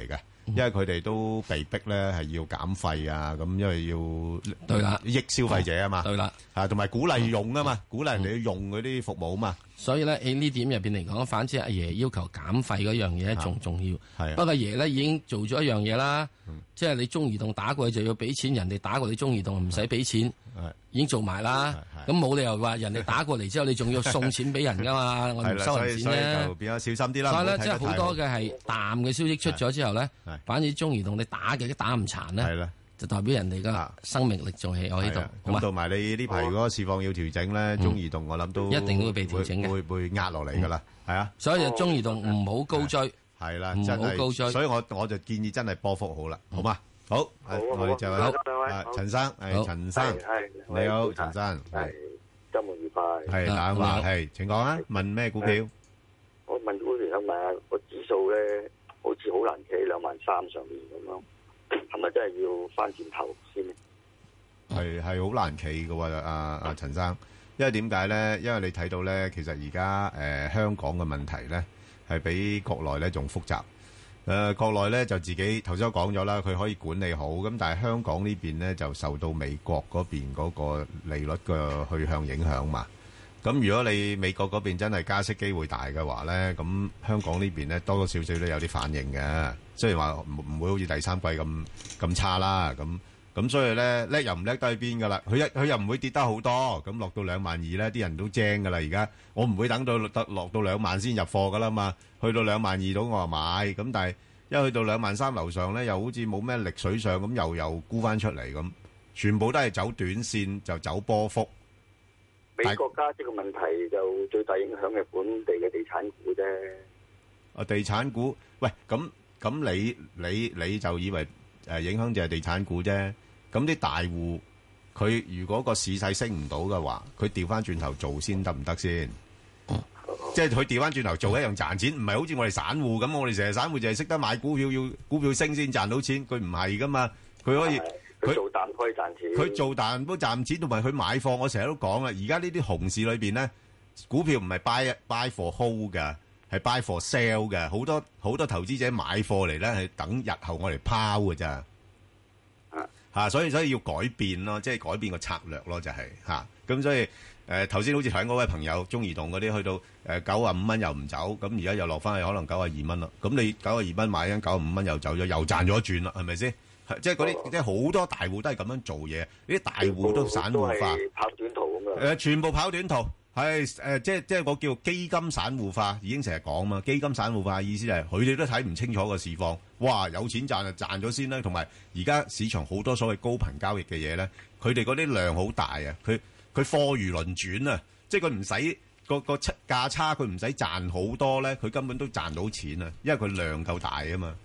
因為佢哋都被逼咧係要減費啊，咁因為要
對啦，
益消費者啊嘛，
對啦，
啊同埋鼓勵用啊嘛，鼓勵人哋要用嗰啲服務啊嘛。
所以咧喺呢點入邊嚟講，反之阿爺要求減費嗰樣嘢仲重要。
係，
不過阿爺咧已經做咗一樣嘢啦，即係你中移動打過去就要俾錢，人哋打過你中移動唔使俾錢，已經做埋啦。咁冇理由話人哋打過嚟之後，你仲要送錢俾人噶嘛？我唔收人錢咧，
就變咗小心啲啦。
所以咧，即係好多嘅係淡嘅消息出咗之後咧，反而中移動你打嘅都打唔殘咧。就代表人哋嘅生命力仲係喺度，
咁同埋你呢排如果市況要調整咧，中移動我諗都
一定會被調整嘅，
會會壓落嚟噶啦，係啊。
所以就中移動唔好高追，
係啦，
唔好高追。
所以我我就建議真係波幅好啦，好嘛？好，我哋就係陳生，係陳生，你好，陳生，
係周末愉快，
係冷話，係請講啊，問咩股票？
我問股票想問下個指數咧，好似好難企喺兩萬三上面咁樣。係咪真係要翻轉頭先？
係係好難企嘅喎，阿阿陳生，因為點解咧？因為你睇到咧，其實而家誒香港嘅問題咧，係比國內咧仲複雜。誒、呃、國內咧就自己頭先都講咗啦，佢可以管理好，咁但係香港呢邊咧就受到美國嗰邊嗰個利率嘅去向影響嘛。咁如果你美國嗰邊真係加息機會大嘅話咧，咁香港呢邊咧多多少少都有啲反應嘅。雖然話唔唔會好似第三季咁咁差啦，咁咁所以咧叻又唔叻得去邊噶啦。佢一佢又唔會跌得好多，咁落到兩萬二咧，啲人都精噶啦。而家我唔會等到得落到兩萬先入貨噶啦嘛。去到兩萬二度我話買，咁但係一去到兩萬三樓上咧，又好似冇咩力水上，咁又又沽翻出嚟咁，全部都係走短線就走波幅。
美國加息嘅問題就最大影響係本地嘅地產股啫。
啊，地產股，喂，咁咁你你你就以為誒影響就係地產股啫？咁啲大戶佢如果個市勢升唔到嘅話，佢調翻轉頭做先得唔得先？即係佢調翻轉頭做一樣賺錢，唔係好似我哋散戶咁，我哋成日散戶就係識得買股票，要股票升先賺到錢，佢唔係噶嘛，佢可以。
佢做淡可以賺錢，
佢做淡都賺錢，同埋佢買貨，我成日都講啦。而家呢啲熊市裏邊咧，股票唔係 buy buy for hold 嘅，係 buy for sell 嘅。好多好多投資者買貨嚟咧，係等日後我嚟拋嘅咋。啊嚇，所以所以要改變咯，即係改變個策略咯，就係嚇。咁所以誒頭先好似睇嗰位朋友中移動嗰啲，去到誒九啊五蚊又唔走，咁而家又落翻去可能九啊二蚊啦。咁你九啊二蚊買緊九啊五蚊又走咗，又賺咗一轉啦，係咪先？即係嗰啲，即係好多大戶都係咁樣做嘢。呢啲大戶都散戶化，
跑短途咁樣。
誒，全部跑短途，係誒，即係即係我叫基金散戶化，已經成日講嘛。基金散戶化意思就係佢哋都睇唔清楚個市況，哇！有錢賺就賺咗先啦。同埋而家市場好多所謂高頻交易嘅嘢咧，佢哋嗰啲量好大啊，佢佢貨如輪轉啊，即係佢唔使個個差價差，佢唔使賺好多咧，佢根本都賺到錢啊，因為佢量夠大啊嘛。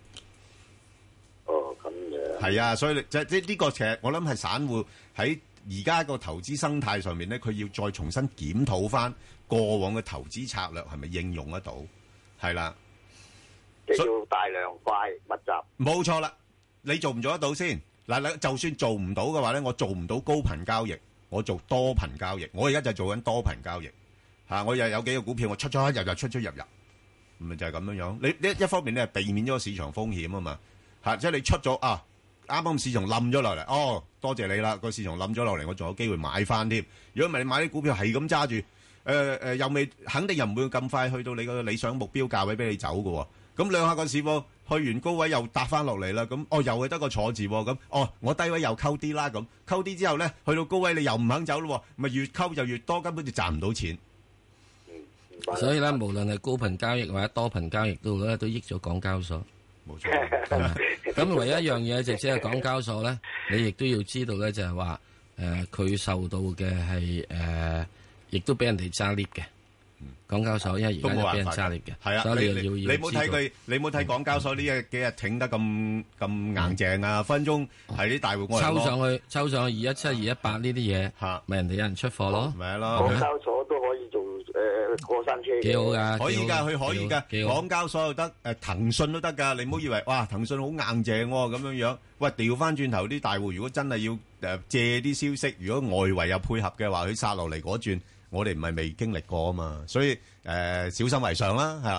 係啊，所以即係即係呢個其實我諗係散戶喺而家個投資生態上面咧，佢要再重新檢討翻過往嘅投資策略係咪應用得到？係啦，
即係要大量快密集。
冇錯啦，你做唔做得到先？嗱，你就算做唔到嘅話咧，我做唔到高頻交易，我做多頻交易。我而家就做緊多頻交易嚇，我又有幾個股票，我出出入入出出入入，咪就係咁樣樣。你呢一方面咧係避免咗個市場風險啊嘛嚇，即係你出咗啊。啱啱市場冧咗落嚟，哦，多謝你啦！個市場冧咗落嚟，我仲有機會買翻添。如果唔係你買啲股票係咁揸住，誒、呃、誒、呃、又未肯定又唔會咁快去到你個理想目標價位俾你走嘅喎。咁兩下個市況去完高位又搭翻落嚟啦，咁哦又係得個坐字喎，咁哦我低位又溝啲啦，咁溝啲之後咧去到高位你又唔肯走咯，咪越溝就越多，根本就賺唔到錢。
嗯、所以咧，無論係高頻交易或者多頻交易都咧，都益咗港交所。
冇錯，
咁唯一一樣嘢就即係港交所咧，你亦都要知道咧，就係話誒佢受到嘅係誒，亦都俾人哋揸 lift 嘅。港交所因為而家都俾人揸 lift 嘅，係啊，所以你要
你冇睇佢，你冇睇港交所呢幾日挺得咁咁硬淨啊！分鐘係啲大戶我
抽上去，抽上去二一七、二一八呢啲嘢，嚇咪人哋有人出貨咯，
咪係咯。
港交所都可以做誒過山車，
幾好㗎，
可以㗎，佢可以㗎。港交所又得，誒騰訊都得㗎。你唔好以為哇騰訊好硬淨喎咁樣樣。喂，調翻轉頭啲大戶，如果真係要誒借啲消息，如果外圍有配合嘅話，佢殺落嚟嗰轉。我哋唔係未經歷過啊嘛，所以誒、呃、小心為上啦，係啦。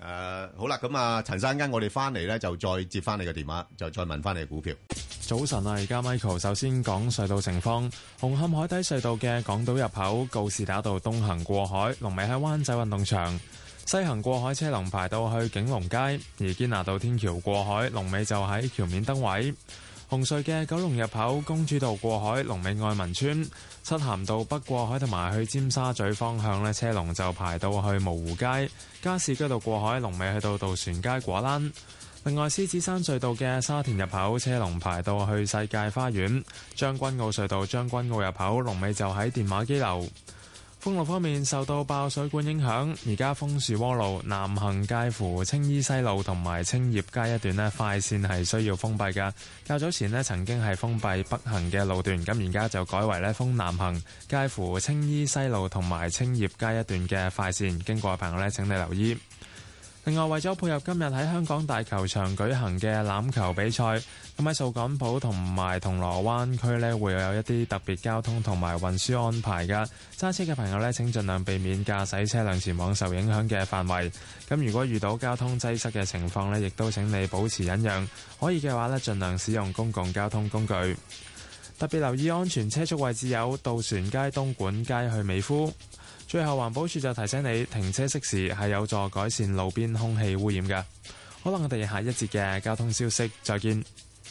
誒，好啦，咁啊，陳生，跟我哋翻嚟咧，就再接翻你嘅電話，就再問翻你嘅股票。
早晨啊，而家 Michael 首先講隧道情況。紅磡海底隧道嘅港島入口告士打道東行過海，龍尾喺灣仔運動場；西行過海車龍排到去景隆街，而堅拿道天橋過海龍尾就喺橋面燈位。紅隧嘅九龍入口公主道過海龍尾愛民村，漆咸道北過海同埋去尖沙咀方向呢，車龍就排到去蕪湖街。加士居道過海龍尾去到渡船街果欄。另外，獅子山隧道嘅沙田入口車龍排到去世界花園。將軍澳隧道將軍澳入口龍尾就喺電話機樓。封路方面，受到爆水管影響，而家楓樹窩路南行介乎青衣西路同埋青葉街一段呢，快線係需要封閉㗎。較早前呢曾經係封閉北行嘅路段，咁而家就改為呢封南行介乎青衣西路同埋青葉街一段嘅快線，經過嘅朋友呢請你留意。另外，為咗配合今日喺香港大球場舉行嘅欖球比賽，咁喺掃桿埔同埋銅鑼灣區呢會有一啲特別交通同埋運輸安排㗎。揸車嘅朋友呢請盡量避免駕駛車輛前往受影響嘅範圍。咁如果遇到交通擠塞嘅情況呢，亦都請你保持忍讓，可以嘅話呢盡量使用公共交通工具。特別留意安全車速位置有渡船街、東莞街去美孚。最後，環保署就提醒你停車熄匙係有助改善路邊空氣污染嘅。可能我哋下一節嘅交通消息再見。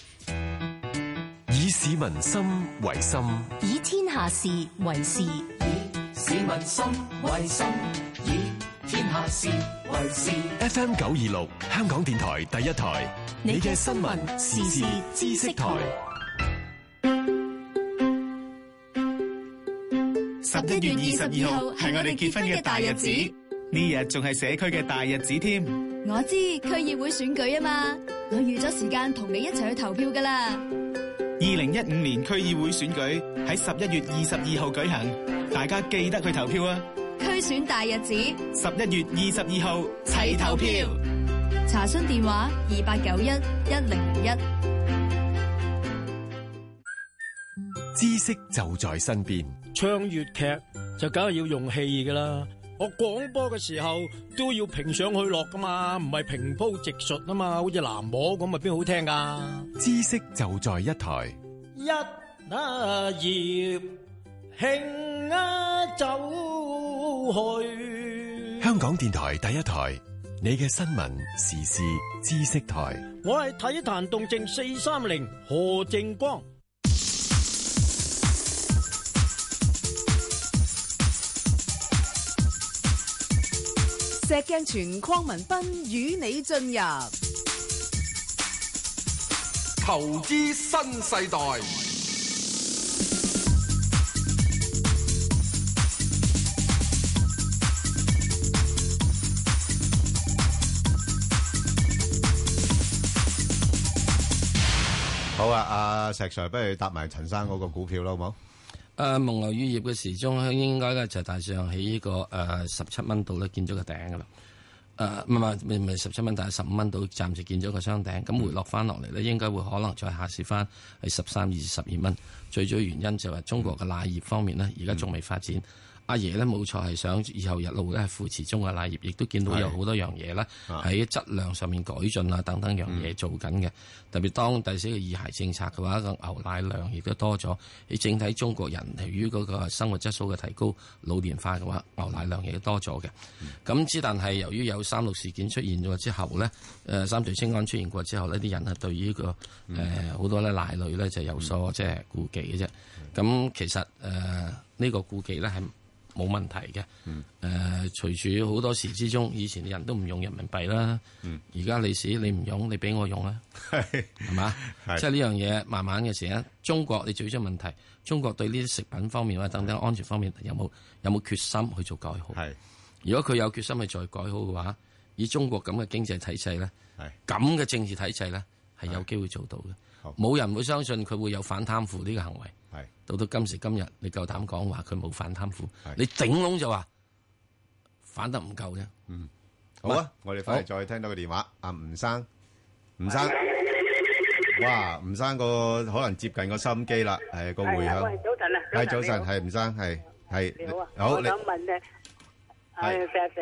以市民心為心，
以天下事為事，以
市民心為心，以天下事為事。
F M 九二六香港電台第一台，你嘅新聞時事知識台。
十一月二十二號係我哋結婚嘅大日子，呢日仲係社區嘅大日子添。
我知區議會選舉啊嘛，我預咗時間同你一齊去投票噶啦。
二零一五年區議會選舉喺十一月二十二號舉行，大家記得去投票啊！
區選大日子，
十一月二十二號齊投票。
查詢電話二八九一一零零一。
知識就在身邊。
唱粵劇就梗係要用戲噶啦，我廣播嘅時候都要平上去落噶嘛，唔係平鋪直述啊嘛，好似南模咁，咪邊好聽噶？
知識就在一台。
一啊葉興啊走去。
香港電台第一台，你嘅新聞時事知識台。
我係體壇動靜四三零何正光。
石鏡泉鄺民彬與你進入
投資新世代。
好啊，阿石 Sir，不如搭埋陳生嗰個股票啦，好冇？
誒蒙牛乳業嘅時鐘應該咧就大上喺呢個誒十七蚊度咧見咗個頂噶啦，誒唔係唔係唔係十七蚊，但係十五蚊度暫時見咗個雙頂，咁回落翻落嚟咧，應該會可能再下試翻係十三至十二蚊。最主要原因就係中國嘅奶業方面呢，而家仲未發展。阿爺咧冇錯係想以後日路咧係扶持中國奶業，亦都見到有好多樣嘢咧喺質量上面改進啊等等樣嘢做緊嘅。特別當第四個二孩政策嘅話，個牛奶量亦都多咗。喺整體中國人由於嗰個生活質素嘅提高、老年化嘅話，牛奶量亦都多咗嘅。咁之、嗯、但係由於有三鹿事件出現咗之後咧，誒、呃、三聚氰胺出現過之後呢，啲人係對於呢、這個誒好、呃、多咧奶類咧就有所即係顧忌嘅啫。咁、嗯、其實誒呢、呃這個顧忌咧係冇問題嘅，誒、嗯呃，隨住好多時之中，以前啲人都唔用人民幣啦，而家利是你唔用，你俾我用啦，係嘛？即係呢樣嘢慢慢嘅時間，中國你最出問題，中國對呢啲食品方面或者等等安全方面有冇有冇決心去做改好？係，如果佢有決心去再改好嘅話，以中國咁嘅經濟體制咧，咁嘅政治體制咧，係有機會做到嘅。冇人會相信佢會有反貪腐呢個行為。係到到今時今日，你夠膽講話佢冇反貪腐？你頂籠就話反得唔夠啫。
嗯，好啊，我哋翻嚟再聽到個電話。阿吳生，吳生，哇，吳生個可能接近個收音機啦，係個回響。
喂，早晨啊，
係早晨，係吳生，係係。
你好啊，
好，
我想問咧，係石石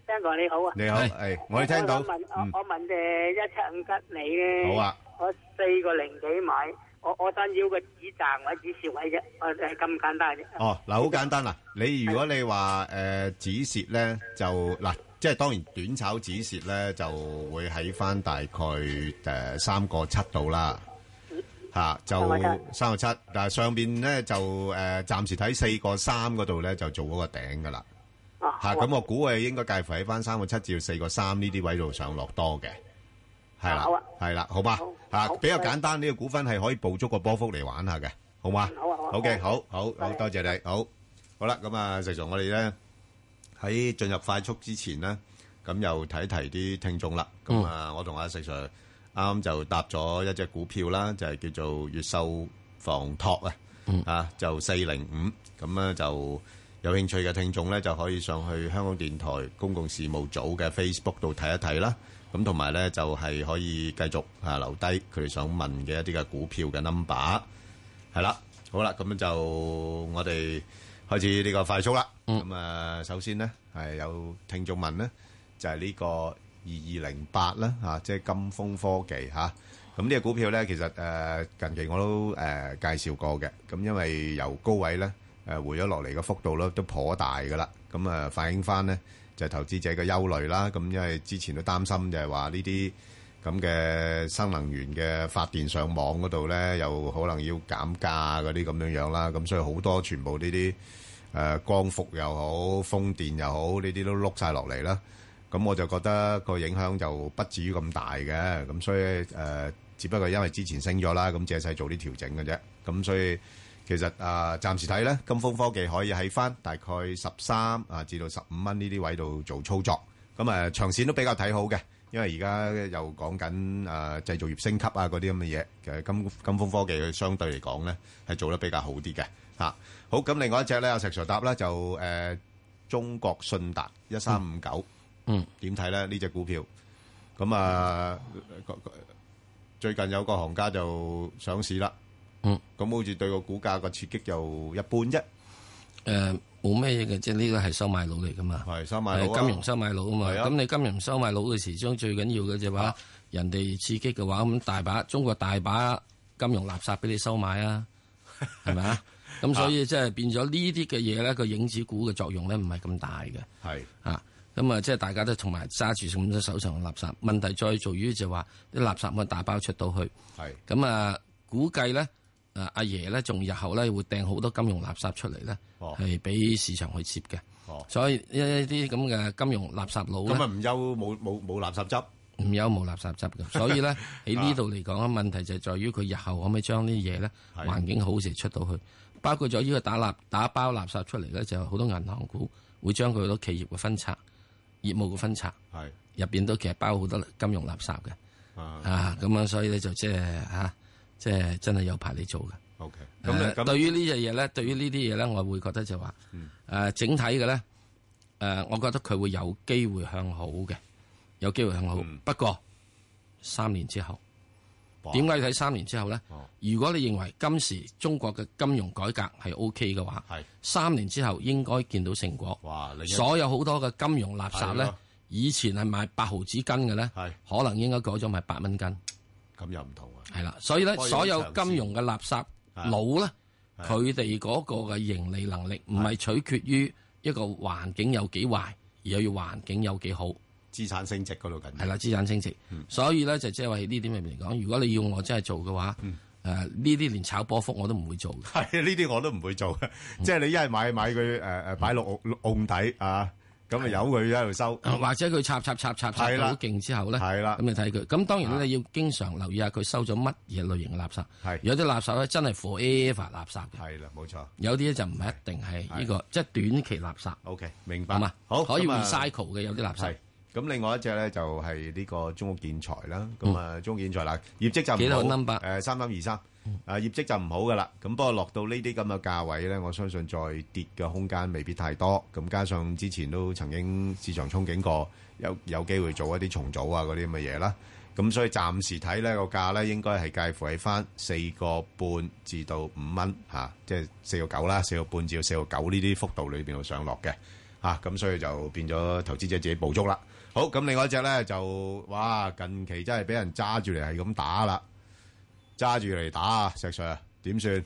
聽過你好啊，
你好，係我哋聽到。
我問我我問誒一七五吉利咧，
好啊，
我四個零幾買，我我想要個止賺位、止蝕位啫，誒誒咁簡單啫。
哦，嗱，好簡單啦，你如果你話誒止蝕咧，就嗱，即係當然短炒止蝕咧，就會喺翻大概誒三個七度啦。吓就三個七，但係上邊咧就誒暫時睇四個三嗰度咧就做嗰個頂噶啦。吓咁我估係應該介乎喺翻三個七至到四個三呢啲位度上落多嘅，係啦，係啦，好嘛吓比較簡單，呢個股份係可以捕捉個波幅嚟玩下嘅，好嘛？好啊，好。好嘅，好好好，多謝你，好好啦。咁啊，石 Sir，我哋咧喺進入快速之前咧，咁又睇一提啲聽眾啦。咁啊，我同阿石 Sir。啱啱就搭咗一隻股票啦，就係、是、叫做越秀房託啊，嗯、啊就四零五，咁咧就有興趣嘅聽眾咧就可以上去香港電台公共事務組嘅 Facebook 度睇一睇啦。咁同埋咧就係、是、可以繼續啊留低佢哋想問嘅一啲嘅股票嘅 number， 係啦，好啦，咁就我哋開始呢個快速啦。咁、嗯、啊，首先咧係有聽眾問咧，就係、是、呢、這個。二二零八啦，嚇，即係金風科技嚇。咁呢個股票咧，其實誒、呃、近期我都誒、呃、介紹過嘅。咁因為由高位咧誒回咗落嚟嘅幅度咧都頗大噶啦。咁啊、呃、反映翻咧就係、投資者嘅憂慮啦。咁因為之前都擔心就係話呢啲咁嘅新能源嘅發電上網嗰度咧，又可能要減價嗰啲咁樣樣啦。咁所以好多全部呢啲誒光伏又好、風電又好，呢啲都碌晒落嚟啦。咁我就覺得個影響就不至於咁大嘅，咁所以誒、呃，只不過因為之前升咗啦，咁借勢做啲調整嘅啫。咁所以其實啊、呃，暫時睇咧，金風科技可以喺翻大概十三啊至到十五蚊呢啲位度做操作。咁啊、呃，長線都比較睇好嘅，因為而家又講緊誒製造業升級啊嗰啲咁嘅嘢，其實金金風科技佢相對嚟講咧係做得比較好啲嘅嚇。好，咁另外一隻咧，阿石 Sir 答啦，就誒、呃、中國信達一三五九。嗯，點睇咧呢隻股票？咁啊，最近有個行家就上市啦。嗯，咁好似對個股價個刺激又一般啫。
誒，冇咩嘢嘅，即係呢個係收買佬嚟噶嘛。
係收買佬，
金融收買佬啊嘛。咁你金融收買佬嘅時鐘最緊要嘅就話，人哋刺激嘅話，咁大把中國大把金融垃圾俾你收買啊，係咪啊？咁所以即係變咗呢啲嘅嘢咧，個影子股嘅作用咧唔係咁大嘅。係啊。咁啊，即係大家都同埋揸住咁多手上嘅垃圾，問題再在於就話啲垃圾咪大包出到去。係咁啊，估計咧，誒阿爺咧，仲日後咧會掟好多金融垃圾出嚟咧，係俾、哦、市場去接嘅。哦，所以一啲咁嘅金融垃圾佬咧，
咁啊唔憂冇冇冇垃圾執，
唔憂冇垃圾執嘅。所以咧喺呢度嚟講啊，問題就係在於佢日後可唔可以將呢啲嘢咧環境好時出到去，包括咗呢個打垃打包垃圾出嚟咧，就好多銀行股會將佢好多企業嘅分拆。業務嘅分拆，係入邊都其實包好多金融垃圾嘅，啊咁樣，所以咧就即係吓，即係真係有排你做嘅。
O K，
咁咁對於呢樣嘢咧，對於呢啲嘢咧，我會覺得就話，誒整體嘅咧，誒，我覺得佢會有機會向好嘅，有機會向好。不過三年之後，點解要睇三年之後咧？如果你認為今時中國嘅金融改革係 O K 嘅話，係三年之後應該見到成果。哇！所有好多嘅金融垃圾咧，以前係賣八毫子斤嘅咧，可能應該改咗賣八蚊斤。
咁又唔同啊！
係啦，所以咧，所有金融嘅垃圾佬咧，佢哋嗰個嘅盈利能力唔係取決於一個環境有幾壞，而係要環境有幾好。
資產升值嗰度緊要係
啦，資產升值，嗯、所以咧就即係話呢點入面嚟講，如果你要我真係做嘅話，誒呢啲連炒波幅我都唔會做嘅。
係呢啲我都唔會做嘅，嗯、即係你一係買買佢誒誒擺落甕底啊，咁啊由佢喺度收，
嗯、或者佢插插插插插到好勁之後咧，係啦，咁你睇佢。咁當然咧你要經常留意下佢收咗乜嘢類型嘅垃圾。係有啲垃圾咧真係 forever 垃圾嘅。
係啦，冇錯。
有啲咧就唔係一定係呢個，即係短期垃圾。
O K，明白
嘛？好，可以 recycle 嘅有啲垃圾。
咁另外一隻咧就係呢個中國建材啦，咁啊中國建材啦，業績就唔好，
幾多 number？
誒三三二三，啊業績就唔好噶啦，咁不過落到呢啲咁嘅價位咧，我相信再跌嘅空間未必太多，咁加上之前都曾經市場憧憬過有有機會做一啲重組啊嗰啲咁嘅嘢啦，咁所以暫時睇咧個價咧應該係介乎喺翻四個半至到五蚊嚇，即係四個九啦，四個半至到四個九呢啲幅度裏邊度上落嘅。 嚇，咁所以就變咗投資者自己捕捉啦。好，咁另外一隻咧就哇，近期真係俾人揸住嚟係咁打啦，揸住嚟打啊！石 Sir 點算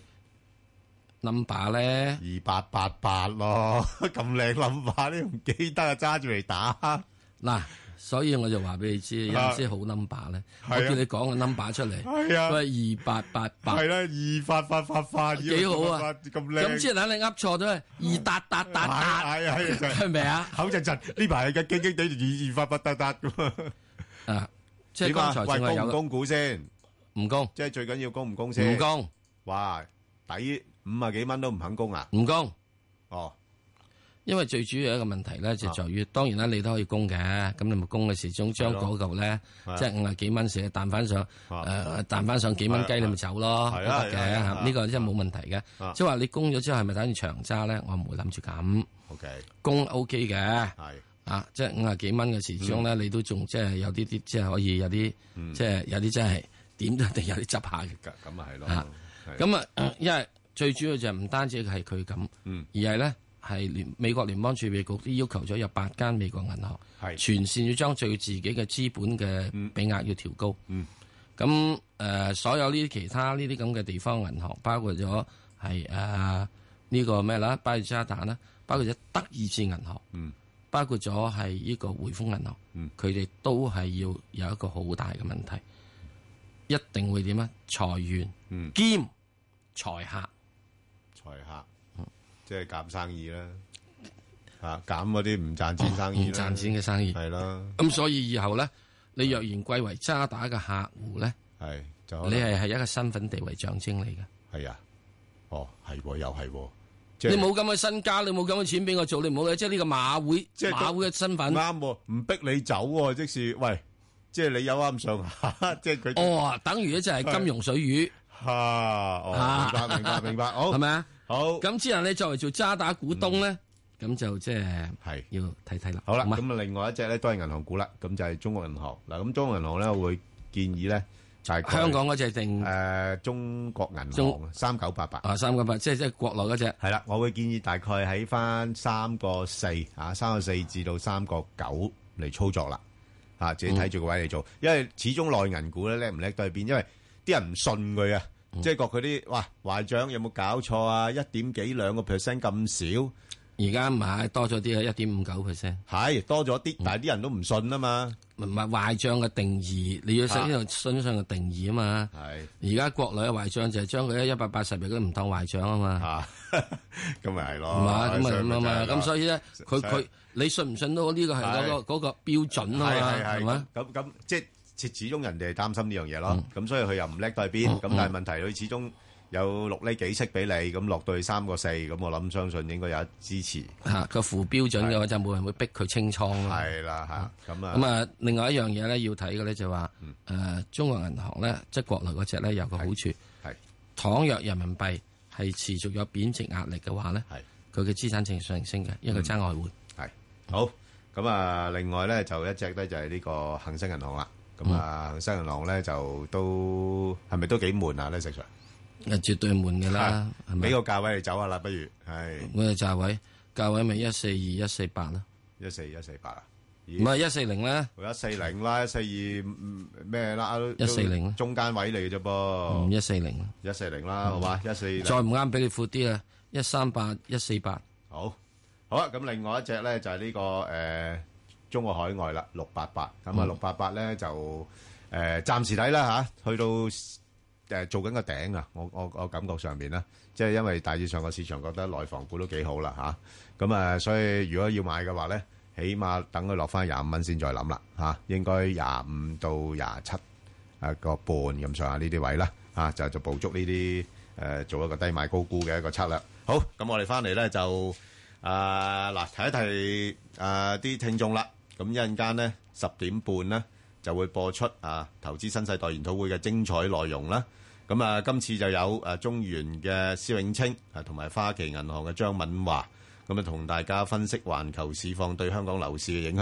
number 咧？
二八八八咯，咁靚 number 你唔記得啊？揸住嚟打
嗱。所以我就話俾你知，有陣時好 number 咧，我叫你講個 number 出嚟，
係啊，
都係二八八八，
係啦，二八八八八，
幾好啊，
咁靚，
咁即係等你噏錯咗，二達達達達，
係啊係啊，
係咪啊？
口震震，呢排係嘅，驚驚地二二八八達達咁
啊！即係剛才仲係有
供唔供股先？
唔供，
即係最緊要供唔供先？
唔供，
哇！抵五啊幾蚊都唔肯供啊？
唔供，
哦。
因為最主要一個問題咧，就在於當然啦，你都可以供嘅，咁你咪供嘅時鐘將嗰嚿咧，即係五啊幾蚊時彈翻上，誒彈翻上幾蚊雞，你咪走咯，都得嘅，呢個真係冇問題嘅。即係話你供咗之後係咪等於長揸咧？我唔會諗住咁。O K，供 O K 嘅，係啊，即係五啊幾蚊嘅時鐘咧，你都仲即係有啲啲，即係可以有啲，即係有啲真係點都一定有啲執下嘅。
咁啊係咯，
咁啊，因為最主要就係唔單止係佢咁，而係咧。係聯美國聯邦儲備局都要求咗有八間美國銀行，係全線要將最自己嘅資本嘅比額要調高。咁誒、嗯呃，所有呢啲其他呢啲咁嘅地方銀行，包括咗係誒呢個咩啦，巴爾渣打啦，包括咗德意志銀行，嗯、包括咗係呢個匯豐銀行，佢哋、嗯、都係要有一個好大嘅問題，一定會點啊？裁員、嗯、兼裁客，
裁客。即係減生意啦，嚇減嗰啲唔賺錢生意，
唔賺錢嘅生意
係啦。
咁所以以後咧，你若然貴為渣打嘅客戶咧，
係
你係係一個身份地位象徵嚟嘅。
係啊，哦係喎，又係喎。
你冇咁嘅身家，你冇咁嘅錢俾我做，你唔好嘅。即係呢個馬會，即係馬會嘅身份
啱喎，唔逼你走喎。即是喂，即係你有啱上下，即係佢。
哦，等於咧就係金融水魚。
嚇！哦，明白明白明白，好係咪啊？好，
咁之後你作為做渣打股東咧，咁就即係係要睇睇啦。
好啦，咁啊，另外一隻咧都係銀行股啦，咁就係中國銀行嗱。咁中國銀行咧，我會建議咧就係
香港嗰隻定
誒中國銀行三九八八
啊，三九八即係即係國內嗰隻
係啦。我會建議大概喺翻三個四啊，三個四至到三個九嚟操作啦。嚇，自己睇住個位嚟做，因為始終內銀股咧叻唔叻都係變，因為啲人唔信佢啊。即係覺佢啲哇壞帳有冇搞錯啊？一點幾兩個 percent 咁少，
而家唔係多咗啲啊，一點五九 percent
係多咗啲，但係啲人都唔信啊嘛。
唔係壞帳嘅定義，你要識呢個信上嘅定義啊嘛。係而家國內嘅壞帳就係將佢喺一百八十日都唔當壞帳啊嘛。
咁咪係咯。
咁啊咁啊嘛，咁所以咧，佢佢你信唔信到呢個係嗰個嗰個標準啊嘛？係嘛？
咁咁即係。始終人哋係擔心呢樣嘢咯，咁、嗯、所以佢又唔叻到去邊，咁、嗯、但係問題佢始終有六厘幾息俾你，咁落到去三個四，咁我諗相信應該有支持。
嚇個負標準嘅話就冇人會逼佢清倉咯。
係啦嚇，咁啊
咁啊，另外一樣嘢咧要睇嘅咧就話、是，誒、嗯呃、中國銀行咧即係國內嗰隻咧有個好處，係倘若人民幣係持續有貶值壓力嘅話咧，係佢嘅資產淨上升嘅，因為佢爭外匯。
係、嗯、好，咁啊另外咧就一隻咧就係呢個恒生銀行啦。咁啊，恒生銀行咧就都係咪都幾悶啊？呢石 Sir，
誒絕對悶嘅啦，係咪？
俾個價位你走下啦，不如係
咩價位？價位咪一四二一四八啦，
一四一四八啊？
唔係一四零咧，
一四零啦，一四二咩啦？
一四零
中間位嚟嘅啫噃，
一四零，
一四零啦，好嘛？一四
再唔啱俾你闊啲啊，一三八一四八，
好，好啊。咁另外一隻咧就係呢個誒。中國海外啦，六八八咁啊，六八八咧就誒暫時睇啦嚇，去到誒做緊個頂啊！我我我感覺上邊啦，即係因為大致上個市場覺得內房股都幾好啦嚇，咁啊，所以如果要買嘅話咧，起碼等佢落翻廿五蚊先再諗啦嚇，應該廿五到廿七啊個半咁上下呢啲位啦嚇，就就捕捉呢啲誒做一個低買高沽嘅一個策略。好，咁我哋翻嚟咧就啊嗱提一提啊啲聽眾啦。咁一陣間咧十點半咧就會播出啊投資新世代研討會嘅精彩內容啦。咁啊今次就有誒中原嘅施永青啊同埋花旗銀行嘅張敏華，咁啊同大家分析環球市況對香港樓市嘅影響。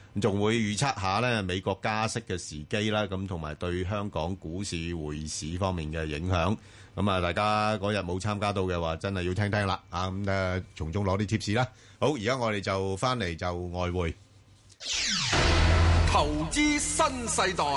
仲會預測下咧美國加息嘅時機啦，咁同埋對香港股市匯市方面嘅影響。咁啊，大家嗰日冇參加到嘅話，真係要聽聽啦。啊，咁誒，從中攞啲貼士啦。好，而家我哋就翻嚟就外匯
投資新世代。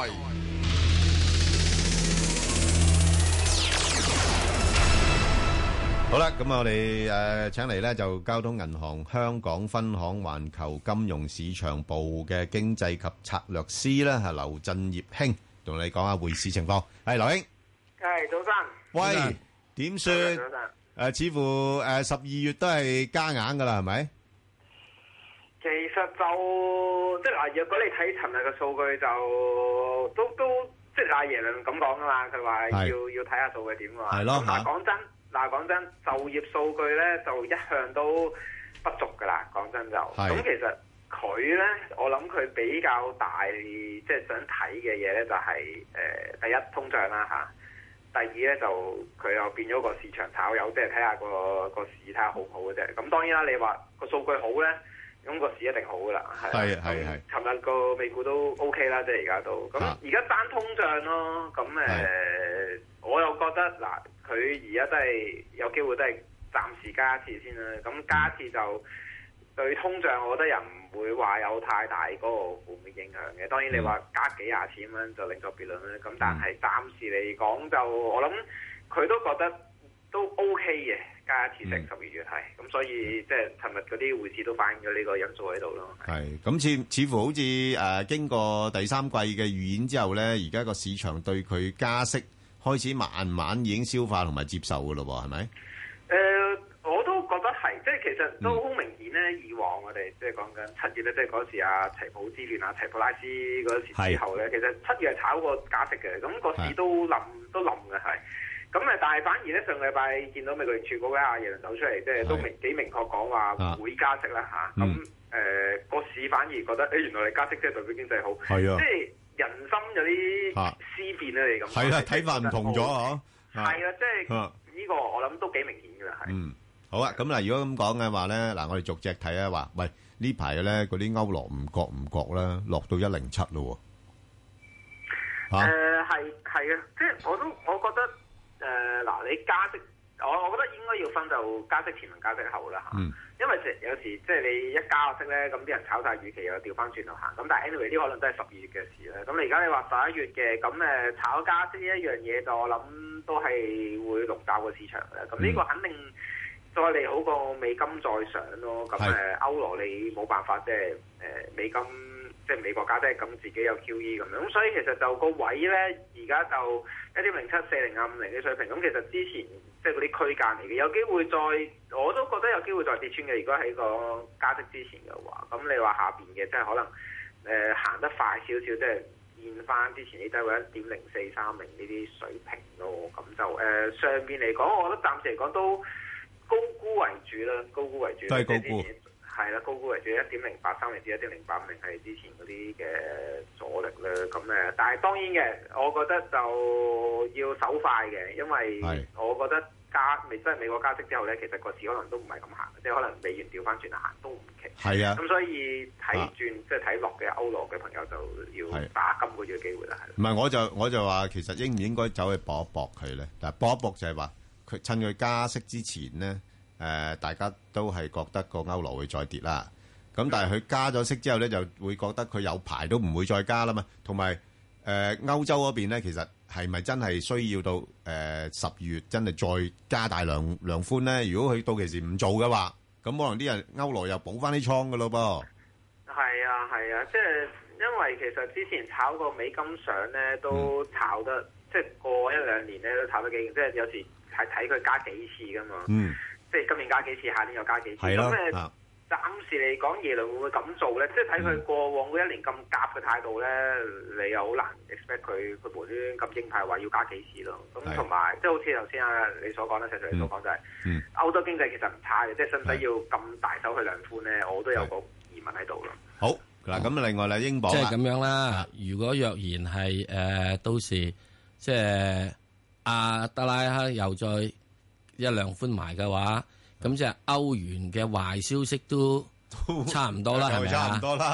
好啦，咁我哋誒請嚟咧就交通銀行香港分行環球金融市場部嘅經濟及策略師啦，係劉振業兄，同你講下匯市情況。係劉兄，
係早晨。
喂，點算？誒，似乎誒十二月都係加硬噶啦，係咪？
其實就即係嗱，如果你睇尋日嘅數據就都都即係阿耶倫咁講噶嘛，佢話要要睇下數據點啊。係咯。嗱，講真。嗱，講真，就業數據咧就一向都不足噶啦。講真就，咁其實佢咧，我諗佢比較大即係想睇嘅嘢咧，就係、是、誒、呃、第一通脹啦嚇，第二咧就佢又變咗個市場炒友，即係睇下個個市睇下好唔好嘅啫。咁當然啦，你話個數據好咧，咁個市一定好噶啦。係係係。尋日個美股都 OK 啦，即係而家都。咁而家單通脹咯，咁誒、呃，我又覺得嗱。佢而家都係有機會都係暫時加一次先啦，咁加一次就對通脹，我覺得又唔會話有太大嗰個負面影響嘅。當然你話加幾廿錢咁樣就另作別論啦。咁但係暫時嚟講就我諗佢都覺得都 OK 嘅，加一次成十二月係。咁所以即係尋日嗰啲匯市都反映咗呢個因素喺度咯。
係咁似似乎好似誒、呃、經過第三季嘅預演之後咧，而家個市場對佢加息開始慢慢已經消化同埋接受嘅咯喎，係咪？誒、
呃，我都覺得係，即係其實都好明顯咧。嗯、以往我哋即係講緊七月咧，即係嗰時啊齊普之亂啊齊普拉斯嗰時之後咧，其實七月係炒過加息嘅，咁、那個市都冧都冧嘅係。咁誒，但係反而咧上個禮拜見到美國聯儲局嘅阿耶倫走出嚟，即係都明幾明確講話會加息啦嚇。咁誒個市反而覺得誒、欸、原來你加息即係代表經濟好，係啊，即係。人心有啲思變咧，你咁
係啦，睇法唔同咗嗬。
係啊，即係呢個我諗都幾明顯㗎啦。係。嗯，
好啊，咁嗱，如果咁講嘅話咧，嗱，我哋逐隻睇啊，話喂呢排咧嗰啲歐羅唔覺唔覺啦，落到一零七咯喎。
誒係係啊，即係我都我覺得誒嗱，你加息，我我覺得應該要分就加息前同加息後啦嚇。嗯。因為有時即係你一加息咧，咁啲人炒晒預期又調翻轉頭行。咁但係 anyway 呢可能都係十二月嘅事啦。咁你而家你話十一月嘅，咁誒炒加息呢一樣嘢，就我諗都係會籠罩個市場嘅。咁呢個肯定再利好過美金再上咯。咁誒歐羅你冇辦法即係誒美金即係美國加息，咁自己有 Q E 咁樣。咁所以其實就個位咧，而家就一點零七四零啊五零嘅水平。咁其實之前即係嗰啲區間嚟嘅，有機會再，我都覺得有機會再跌穿嘅。如果喺個加息之前嘅話，咁你話下邊嘅即係可能誒、呃、行得快少少，即係現翻之前啲低位一點零四三零呢啲水平咯。咁就誒、呃、上邊嚟講，我覺得暫時嚟講都高估為主啦，高估為主。都係高估。係啦，高估為主，一點零八三零至一點零八五零係之前嗰啲嘅阻力啦。咁誒，但係當然嘅，我覺得就要手快嘅，因為我覺得加未真係美國加息之後咧，其實個市可能都唔係咁行，即係可能美元調翻轉行都唔奇。係啊，咁所以睇轉即係睇落嘅歐羅嘅朋友就要打今個月嘅機會啦。係。唔係，我就我就話其實應唔應該走去搏一搏佢咧？但係搏一搏就係話佢趁佢加息之前咧。誒、呃，大家都係覺得個歐羅會再跌啦。咁但係佢加咗息之後咧，就會覺得佢有排都唔會再加啦嘛。同埋誒歐洲嗰邊咧，其實係咪真係需要到誒十、呃、月真係再加大量量寬咧？如果佢到期時唔做嘅話，咁可能啲人歐羅又補翻啲倉㗎咯噃。係啊，係啊，即係因為其實之前炒個美金上咧，都炒得、嗯、即係過一兩年咧都炒得幾勁，即係有時係睇佢加幾次噶嘛。嗯。即係今年加幾次，下年又加幾次。咁誒，暫時嚟講，耶倫會唔會咁做咧？即係睇佢過往嗰一年咁鴿嘅態度咧，你又好難 expect 佢佢無端端咁鷹派話要加幾次咯。咁同埋即係好似頭先啊你所講咧，石 Sir 你所講就係、是嗯、歐洲經濟其實唔差嘅，即係使唔使要咁大手去量寬咧？我都有個疑問喺度咯。好嗱，咁另外咧，英鎊
即係咁樣啦。如果若然係誒、呃、到時即係阿德拉克又再一量寬埋嘅話，咁即係歐元嘅壞消息都差唔多啦，係咪啊？差唔多啦。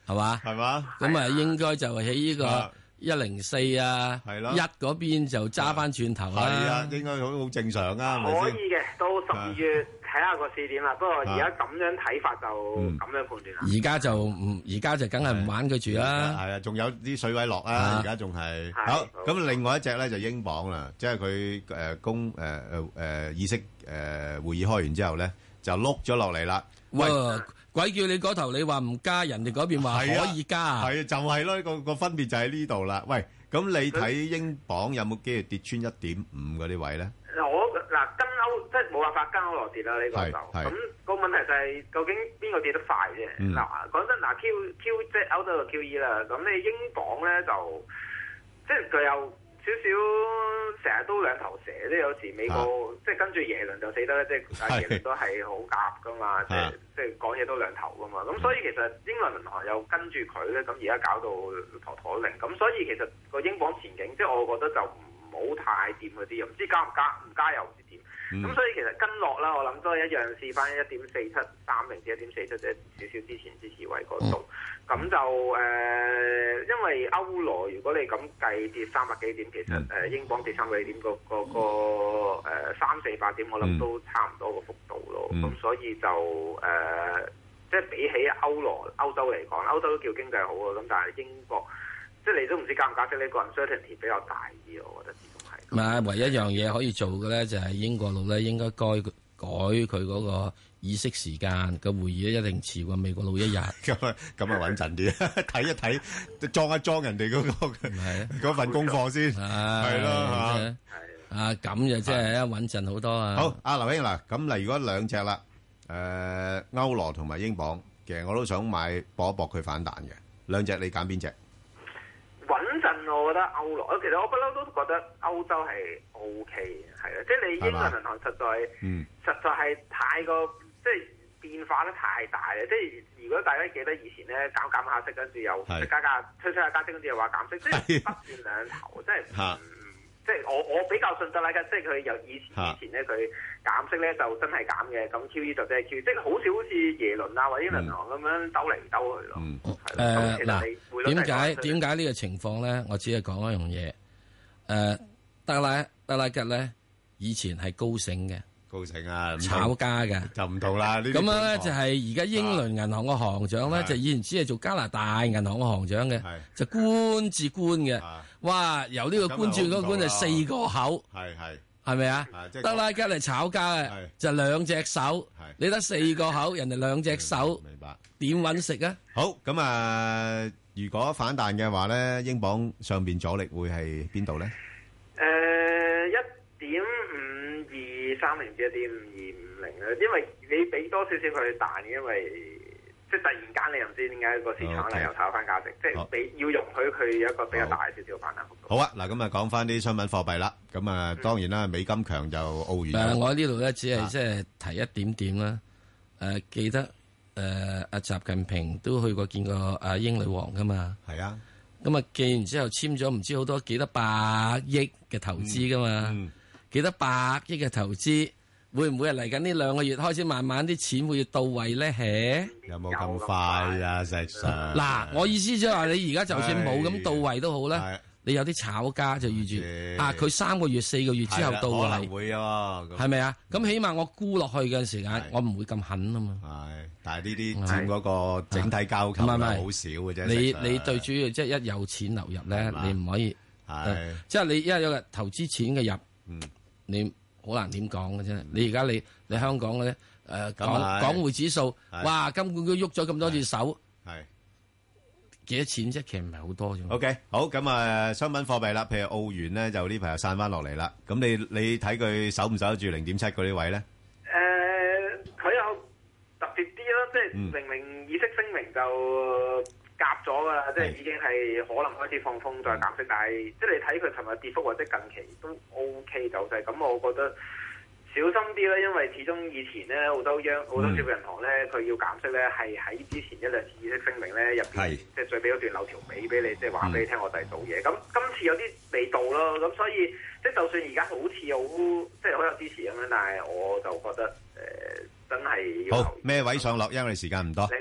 係嘛？
係嘛？
咁啊，應該就喺呢個一零四啊，
係咯，
一嗰邊就揸翻轉頭啦。
係啊，應該好好正常啊，係咪先？
可以嘅，到十二月睇下個市點啦。不過而家咁樣睇法就咁樣判斷啦。
而家就唔，而家就梗係唔玩佢住啦。
係啊，仲有啲水位落啊，而家仲係好。咁另外一隻咧就英鎊啦，即係佢誒公誒誒誒議息誒會議開完之後咧，就碌咗落嚟啦。
喂！鬼叫你嗰頭，你話唔加，人哋嗰邊話可以加，
係啊，就係咯，個個分別就喺呢度啦。喂，咁你睇英鎊有冇機會跌穿一點五嗰啲位咧？
我嗱跟歐即係冇辦法跟歐羅跌啦，呢個就咁個問題就係究竟邊個跌得快啫？嗱講真，嗱 Q Q 即係歐洲嘅 Q E 啦，咁你英鎊咧就即係佢有少少成日都兩頭蛇，即係有時美國、啊、即係跟住耶倫就死得咧，即係耶倫都係好夾噶嘛，即係即係講嘢都兩頭噶嘛。咁所以其實英倫銀行又跟住佢咧，咁而家搞到陀陀零。咁所以其實個英鎊前景，即係我覺得就唔好太掂嗰啲，又唔知加唔加，唔加又唔知點。咁、嗯、所以其實跟落啦，我諗都係一樣試翻一點四七三零至一點四七，即係少少之前支持位嗰度。咁、嗯、就誒、呃，因為歐羅如果你咁計跌三百幾點，其實誒、呃、英鎊跌三百幾點，個個個誒三四百點，我諗都差唔多個幅度咯。咁、嗯、所以就誒、呃，即係比起歐羅歐洲嚟講，歐洲都叫經濟好啊。咁但係英國，即係你都唔知加唔加息呢個 uncertainty 比較大啲，我覺得。
唔係，唯一一樣嘢可以做嘅咧，就係英國佬咧應該改改佢嗰個議息時間個會議咧，一定遲過美國佬一日。咁啊，咁啊穩陣啲，睇一睇，裝一裝人哋嗰個嗰份功課先，係咯嚇。啊，咁就即係穩陣好多啊。
好，阿劉兄嗱，咁嗱，如果兩隻啦，誒歐羅同埋英鎊，其實我都想買搏一搏佢反彈嘅。兩隻你揀邊隻？
穩陣，我覺得歐羅，其實我不嬲都覺得歐洲係 O K 嘅，係啊，即係你英倫銀行實在，嗯、實在係太過即係變化得太大啦。即係如果大家記得以前咧減減下息，跟住又加加推推下加息，跟住又話減息，即係不斷兩頭，即係即係我我比較信得啦，即係佢由以前以前咧佢減息咧就真係減嘅，咁 Q E 就真係 Q E，即係好少好似耶倫啊或者英倫銀行咁樣兜嚟兜去咯。
誒嗱，點解點解呢個情況咧？我只係講一樣嘢。誒、呃，德拉德拉吉咧以前係高盛嘅，
高盛啊，
炒家嘅
就唔同啦。
咁樣咧就係而家英倫銀行嘅行長咧，就以前只係做加拿大銀行嘅行長嘅，就官至官嘅。哇！由呢個官轉嗰個官就四個口，
係係
係咪啊？德拉吉嚟炒家嘅就兩隻手，你得四個口，人哋兩隻手，
明白？
點揾食啊？
好咁啊！如果反彈嘅話咧，英鎊上邊阻力會係邊度咧？
誒，一點五二三零至一點五二五零啊，因為你俾多少少佢彈，因為。即係突然間，你又唔知點解個市場咧又炒翻價值，即係俾要容許佢有一個比較大少少反彈幅度。
好啊，嗱咁啊，講翻啲商品貨幣啦。咁啊，當然啦，美金強就澳元。
誒，我喺呢度咧，只係即係提一點點啦。誒，記得誒阿習近平都去過見過阿英女王噶嘛。係啊。咁啊，見完之後簽咗唔知好多幾多百億嘅投資噶嘛？幾多百億嘅投資？會唔會係嚟緊呢兩個月開始慢慢啲錢會到位咧？嘿，
有冇咁快啊？石 Sir，
嗱，我意思即係話你而家就算冇咁到位都好咧，你有啲炒家就預住啊，佢三個月、四個月之後到位，
可能會啊，
係咪啊？咁起碼我沽落去嘅時間，我唔會咁狠啊嘛。
係，但係呢啲佔嗰個整體交購係好少嘅啫。
你你最主要即係一有錢流入咧，你唔可以係，即係你一有個投資錢嘅入，你。好難點講嘅啫！你而家你你香港嘅咧誒港港匯指數，哇！金管局喐咗咁多隻手，係幾多錢啫？其實唔係好多啫。
OK，好咁啊，商品貨幣啦，譬如澳元咧，就呢排又散翻落嚟啦。咁你你睇佢守唔守得住零點七嗰啲位咧？
誒，佢有特別啲咯，即係明明議息聲明就夾咗噶啦，即係已經係可能開始放風再減息，但係即係你睇佢尋日跌幅或者近期都 O K 走勢，咁我覺得小心啲啦，因為始終以前咧好多央好多小銀行咧，佢要減息咧係喺之前一兩次議息聲明咧入邊，即係最尾嗰段留條尾俾你，即係話俾你聽我哋做嘢。咁今次有啲味道咯，咁所以即係就算而家好似好即係好有支持咁樣，但係我就覺得誒真係要
好咩位上落，因為時間唔多。
零點下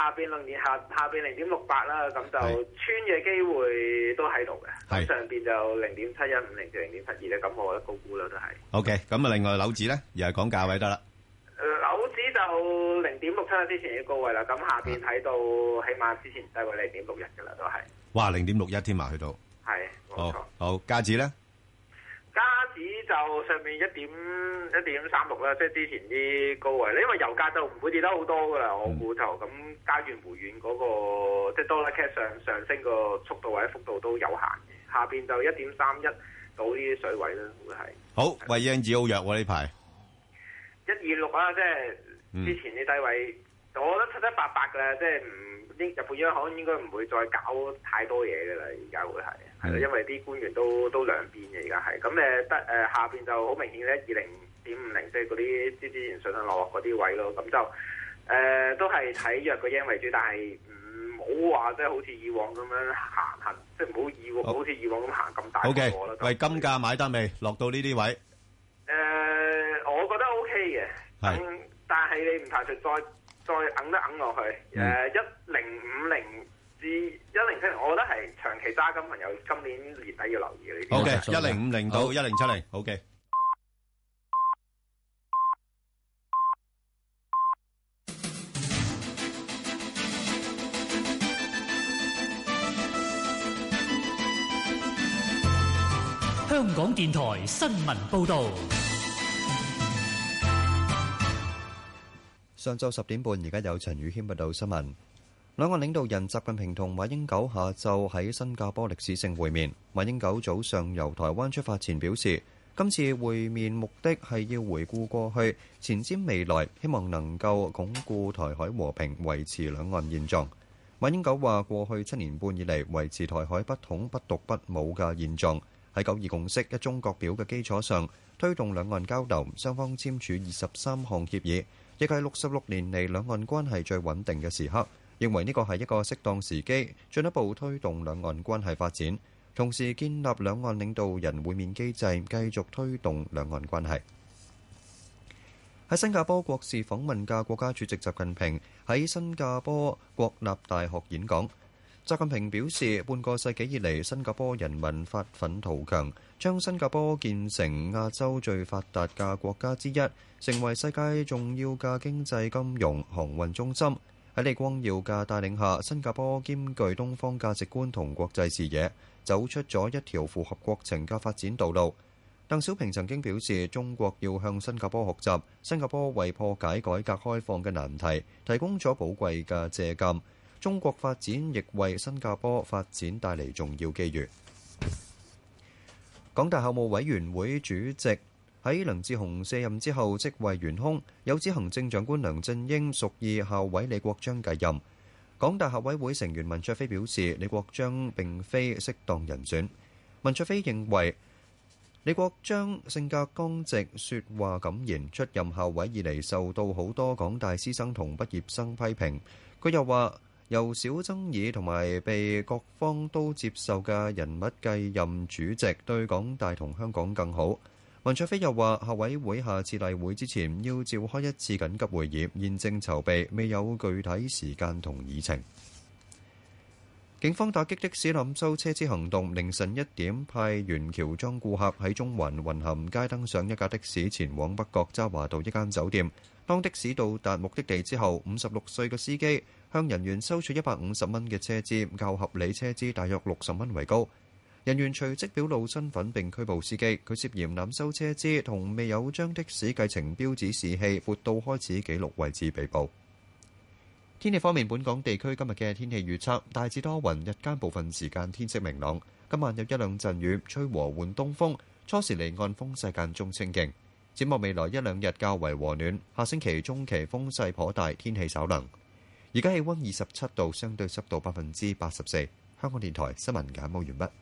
下邊零點下下邊零點六八啦，咁就穿嘅機會都喺度嘅。咁上邊就零點七一五零至零點七二咧，咁我覺得高估啦都係。
O K，咁啊，另外樓指咧，又係講價位得啦。
誒，樓指就零點六七之前嘅高位啦，咁下邊睇到起碼之前低位零點六一嘅啦，都係。哇，
零點六一添啊，去到。
係，冇錯。
好，加指咧？
加指就上面一點一點三六啦，即係之前啲高位咧，因為油價就唔會跌得好多噶啦，我估就咁加元回軟嗰個即係 dollar cash 上上升個速度或者幅度都有限嘅，下邊就一點三一到呢啲水位啦，會係。
好，喂，英指好弱喎呢排。
一二六啦，即係之前啲低位，嗯、我覺得七七八八噶啦，即係唔英日本央行應該唔會再搞太多嘢噶啦，而家會係係啦，因為啲官員都都兩邊嘅而家係，咁誒得誒下邊就好明顯咧，二零點五零即係嗰啲之之前上上落落嗰啲位咯，咁就誒、呃、都係睇弱個 yen 為主，但係唔好話即係好似以往咁樣行行，即係唔好以往好似以往咁行咁大個啦。
O K，喂，金價買得未？落到呢啲位？誒、
呃，我覺得 O K 嘅，係、嗯，但係你唔排除再再揞得揞落去，誒一零五零至一零七零，我覺得係長期揸金朋友今年年底要留意嘅呢啲。
O K，一零五零到一零七零，O K。
香港電台新聞報導。
上晝十點半，而家有陳宇軒報道新聞。兩岸領導人習近平同馬英九下晝喺新加坡歷史性會面。馬英九早上由台灣出發前表示，今次會面目的係要回顧過去，前瞻未來，希望能夠鞏固台海和平，維持兩岸現狀。馬英九話：過去七年半以嚟，維持台海不統不獨不武嘅現狀。喺九二共識、一中各表嘅基礎上，推動兩岸交流，雙方簽署二十三項協議，亦係六十六年嚟兩岸關係最穩定嘅時刻。認為呢個係一個適當時機，進一步推動兩岸關係發展，同時建立兩岸領導人會面機制，繼續推動兩岸關係。喺新加坡國事訪問嘅國家主席習近平喺新加坡國立大學演講。習近平表示，半個世紀以嚟，新加坡人民發奮圖強，將新加坡建成亞洲最發達嘅國家之一，成為世界重要嘅經濟、金融、航運中心。喺李光耀嘅帶領下，新加坡兼具東方價值觀同國際視野，走出咗一條符合國情嘅發展道路。鄧小平曾經表示，中國要向新加坡學習，新加坡為破解改革開放嘅難題，提供咗寶貴嘅借鑑。中國發展亦為新加坡發展帶嚟重要機遇。港大校務委員會主席喺梁智鴻卸任之後職位懸空，有指行政長官梁振英屬意校委李國章繼任。港大校委會成員文卓飛表示，李國章並非適當人選。文卓飛認為李國章性格剛直，說話敢言，出任校委以嚟受到好多港大師生同畢業生批評。佢又話，由少爭議同埋被各方都接受嘅人物繼任主席，對港大同香港更好。文卓飛又話，校委會下次例會之前要召開一次緊急會議，現正籌備，未有具體時間同議程。警方打擊的士濫收車資行動，凌晨一點派員喬裝顧客喺中環雲咸街登上一架的士，前往北角渣華道一間酒店。當的士到達目的地之後，五十六歲嘅司機向人員收取一百五十蚊嘅車資，較合理車資大約六十蚊為高。人員隨即表露身份並拘捕司機，佢涉嫌濫收車資同未有將的士計程標指示器撥到開始記錄位置被捕。天氣方面，本港地區今日嘅天氣預測大致多雲，日間部分時間天色明朗，今晚有一兩陣雨，吹和緩東風，初時離岸風勢間中清勁。展望未來一兩日較為和暖，下星期中期風勢頗大，天氣稍涼。而家氣溫二十七度，相對濕度百分之八十四。香港電台新聞簡報完畢。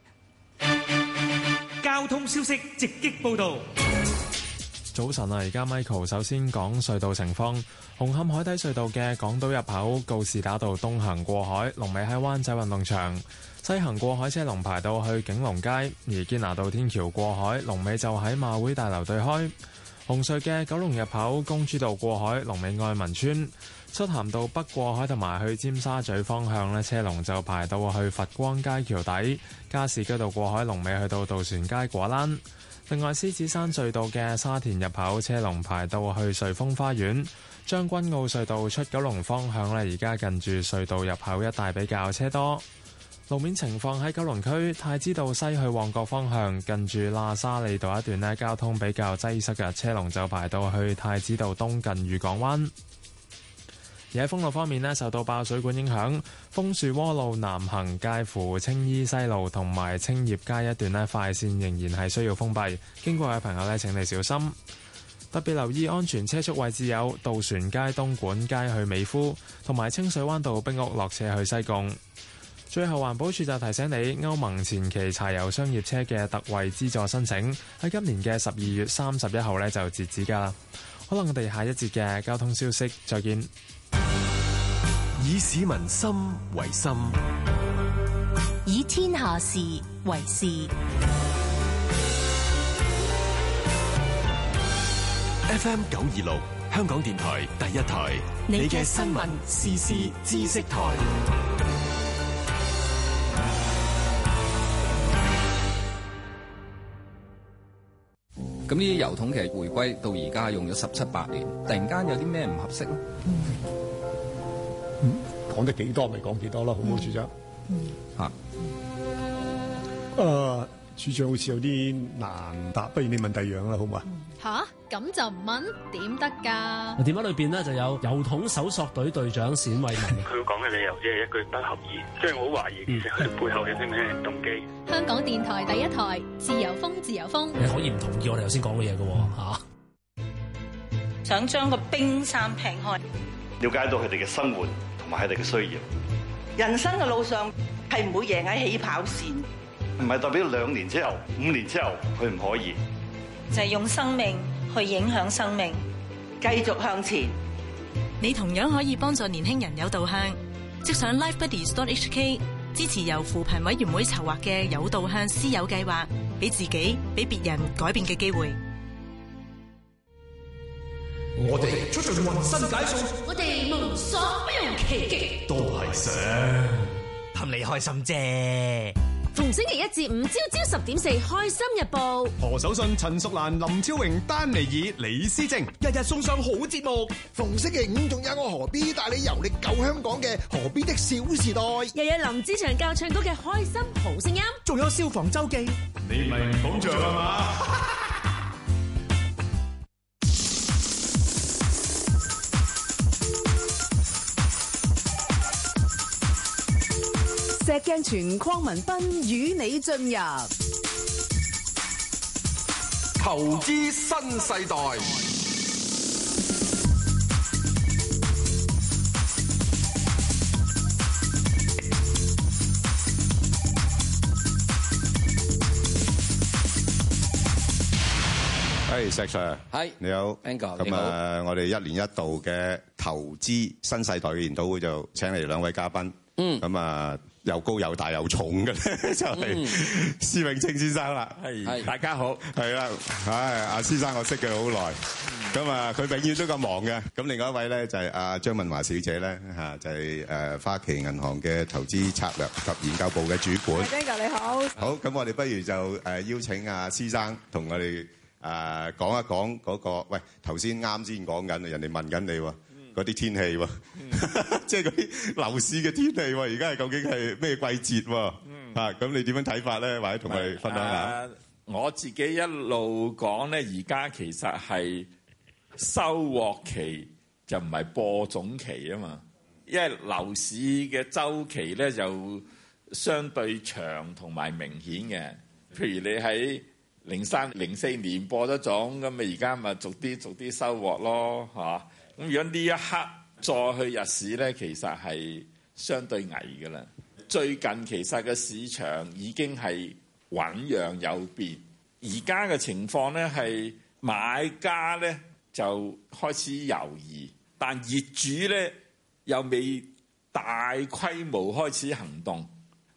交通消息直擊報道。
早晨啊，而家 Michael 首先講隧道情況。紅磡海底隧道嘅港島入口告士打道東行過海，龍尾喺灣仔運動場；西行過海車龍排到去景隆街，而堅拿道天橋過海龍尾就喺馬會大樓對開。 紅隧嘅九龍入口公主道過海，龍尾愛民村；漆咸道北過海同埋去尖沙咀方向呢，車龍就排到去佛光街橋底；加士居道過海龍尾去到渡船街果欄。另外，獅子山隧道嘅沙田入口車龍排到去瑞豐花園；將軍澳隧道出九龍方向呢，而家近住隧道入口一帶比較車多。路面情況喺九龍區太子道西去旺角方向，近住喇沙利道一段呢，交通比較擠塞嘅，車龍就排到去太子道東近漁港灣。而喺封路方面呢，受到爆水管影響，楓樹窩路南行介乎青衣西路同埋青葉街一段呢，快線仍然係需要封閉，經過嘅朋友呢，請你小心。特別留意安全車速位置有渡船街、東莞街去美孚，同埋清水灣道冰屋落斜去西貢。最後，環保署就提醒你，歐盟前期柴油商業車嘅特惠資助申請喺今年嘅十二月三十一號呢就截止㗎啦。可能我哋下一節嘅交通消息再見。
以市民心為心，
以天下事為事。
F M 九二六香港電台第一台，你嘅新聞時事知識台。
咁呢啲郵筒其實回歸到而家用咗十七八年，突然間有啲咩唔合適咧？
嗯，講得幾多咪講幾多啦，好唔好，處長？
嗯，嚇、啊。
誒、呃，處長好似有啲難答，不如你問第二樣啦，好唔好啊？
吓，咁就唔問點得㗎？
電話裏邊呢就有郵筒搜索隊隊長冼慧文。
佢講嘅理由只係一句不合意，即係我好懷疑其實佢背後有啲咩動機。
香港電台第一台，自由風，自由風。
你可以唔同意我哋頭先講嘅嘢㗎喎，嚇。
想將個冰山劈開，
了解到佢哋嘅生活同埋佢哋嘅需要。
人生嘅路上係唔會贏喺起跑線，
唔係代表兩年之後、五年之後佢唔可以。
就係用生命去影響生命，繼續向前。
你同樣可以幫助年輕人有導向，即上 lifebuddies dot h k 支持由扶貧委員會籌劃嘅有導向師友計劃，俾自己、俾別人改變嘅機會。
我哋出盡渾身解數，
我哋無所不用其極，
都係想
氹你開心啫。
逢星期一至五朝朝十點四，開心日報。
何守信、陳淑蘭、林超榮、丹尼爾、李思正，
日日送上好節目。
逢星期五仲有我何必帶你遊歷舊香港嘅何必的小時代，
又有林子祥教唱歌嘅開心好聲音，
仲有消防周記。
你咪唔捧場啊嘛！
石鏡泉鄺民彬與你進入
投資新世代。
係石 Sir，係你好
Angus，
咁啊，我哋一年一度嘅投資新世代嘅研討會就請嚟兩位嘉賓，嗯，咁啊。又高又大又重嘅咧，就係施永青先生啦。係，大家好。係啦，唉，阿施生我識佢好耐，咁啊，佢永遠都咁忙嘅。咁另外一位咧就係阿張敏華小姐咧，嚇就係誒花旗銀行嘅投資策略及研究部嘅主管。
Angus 你好。好，
咁我哋不如就誒邀請阿施生同我哋誒講一講嗰個，喂，頭先啱先講緊，人哋問緊你喎。嗰啲天氣喎，即係嗰啲樓市嘅天氣喎，而家係究竟係咩季節喎？嗯、啊，咁你點樣睇法咧？或者同我哋分享下、
呃？我自己一路講咧，而家其實係收穫期，就唔係播種期啊嘛。因為樓市嘅週期咧就相對長同埋明顯嘅。譬如你喺零三、零四年播咗種，咁咪而家咪逐啲逐啲收穫咯，嚇。咁如果呢一刻再去入市咧，其實係相對危㗎啦。最近其實個市場已經係醞釀有變，而家嘅情況咧係買家咧就開始猶豫，但業主咧又未大規模開始行動。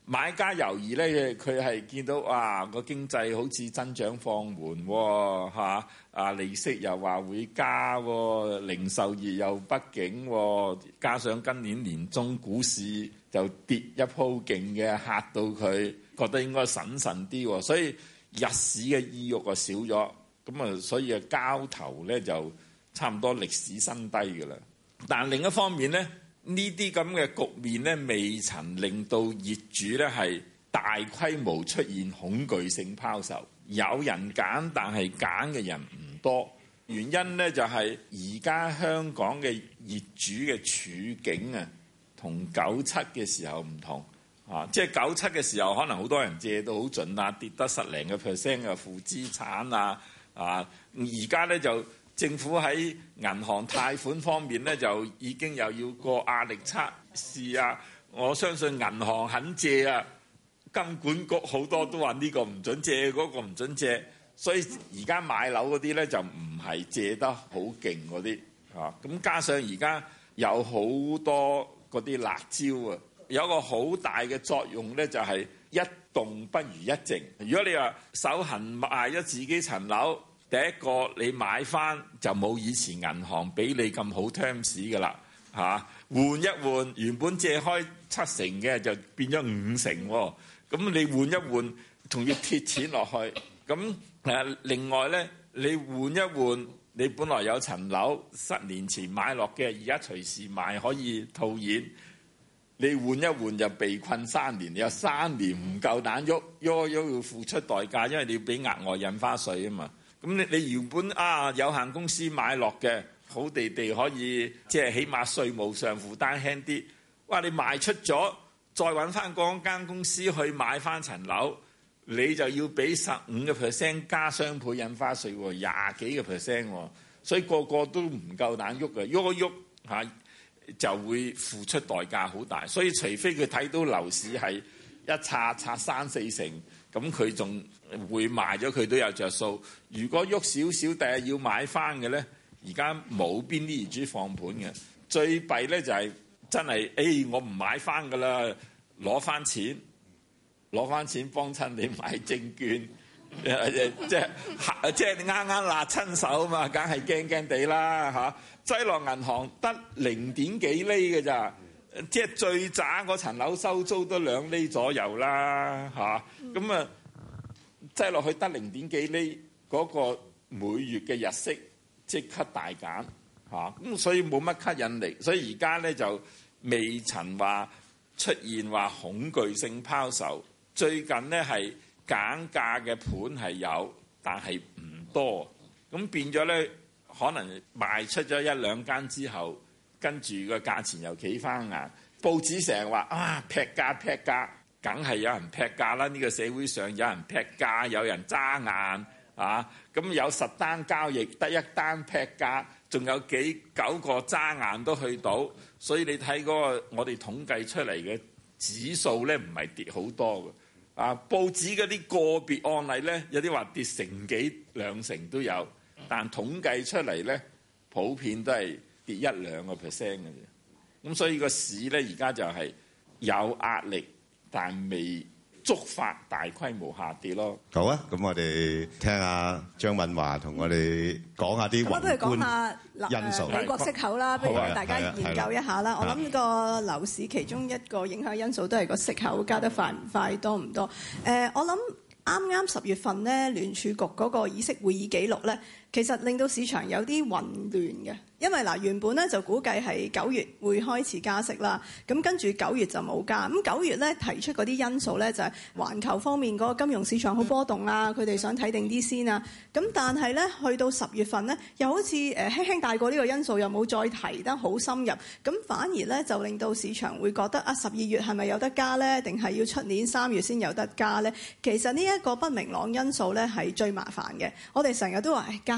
買家猶豫咧，佢係見到哇個經濟好似增長放緩喎，嚇啊利息又話會加喎，零售業又不景喎，加上今年年中股市就跌一鋪勁嘅，嚇到佢覺得應該審慎啲喎，所以入市嘅意欲就少咗，咁啊所以啊交投咧就差唔多歷史新低㗎啦。但另一方面咧，呢啲咁嘅局面咧，未曾令到業主咧係大規模出現恐懼性拋售。有人揀，但係揀嘅人唔多。原因咧就係而家香港嘅業主嘅處境啊，同九七嘅時候唔同啊。即係九七嘅時候，可能好多人借到好盡啊，跌得十零個 percent 嘅負資產啊啊。而家咧就政府喺銀行貸款方面咧，就已經又要過壓力測試啊！我相信銀行肯借啊，金管局好多都話呢個唔準借，嗰個唔準借，所以而家買樓嗰啲咧就唔係借得好勁嗰啲啊！咁加上而家有好多嗰啲辣椒啊，有個好大嘅作用咧，就係一動不如一靜。如果你話手痕賣咗自己層樓，第一個你買翻就冇以前銀行俾你咁好 terms 㗎啦嚇，換一換原本借開七成嘅就變咗五成喎，咁你換一換仲要貼錢落去，咁誒另外咧你換一換你本來有層樓十年前買落嘅，而家隨時賣可以套現，你換一換就被困三年，你有三年唔夠膽喐喐喐要付出代價，因為你要俾額外印花稅啊嘛。咁你你原本啊有限公司買落嘅好地地可以即係起碼稅務上負擔輕啲，哇！你賣出咗再揾翻嗰間公司去買翻層樓，你就要俾十五個 percent 加雙倍印花稅喎，廿幾個 percent 喎，所以個個都唔夠膽喐嘅，喐一喐嚇就會付出代價好大，所以除非佢睇到樓市係一拆拆三四成。咁佢仲會賣咗，佢都有着數。如果喐少少，第日要買翻嘅咧，而家冇邊啲業主放盤嘅。最弊咧就係真係，誒、哎、我唔買翻噶啦，攞翻錢，攞翻錢幫襯你買證券，即係即係啱啱辣親手啊嘛，梗係驚驚地啦嚇。擠落銀行得零點幾厘嘅咋。即係最渣嗰層樓收租都兩厘左右啦嚇，咁啊擠落去得零點幾厘，嗰個每月嘅日息即刻大減嚇，咁所以冇乜吸引力，所以而家咧就未曾話出現話恐懼性拋售。最近咧係減價嘅盤係有，但係唔多，咁變咗咧可能賣出咗一兩間之後。跟住個價錢又企翻硬，報紙成日話啊劈價劈價，梗係有人劈價啦！呢個社會上有人劈價，有人揸硬啊！咁有十單交易得一單劈價，仲有幾九個揸硬都去到，所以你睇嗰個我哋統計出嚟嘅指數咧，唔係跌好多嘅啊！報紙嗰啲個別案例咧，有啲話跌成幾兩成都有，但統計出嚟咧，普遍都係跌一兩個 percent 嘅啫，咁所以個市咧而家就係有壓力，但未觸發大規模下跌咯。
好啊，咁我哋聽下張敏華同我哋講下啲宏觀因素。
美國息口啦，不如大家研究一下啦。我諗個樓市其中一個影響因素都係個息口加得快唔快、多唔多。誒，我諗啱啱十月份咧，聯儲局嗰個議息會議記錄咧，其實令到市場有啲混亂嘅。因為嗱原本咧就估計係九月會開始加息啦，咁跟住九月就冇加。咁九月咧提出嗰啲因素咧就係環球方面嗰個金融市場好波動啊，佢哋想睇定啲先啊。咁但係咧去到十月份咧，又好似誒輕輕帶過呢個因素，又冇再提得好深入。咁反而咧就令到市場會覺得啊，十二月係咪有得加咧？定係要出年三月先有得加咧？其實呢一個不明朗因素咧係最麻煩嘅。我哋成日都話誒加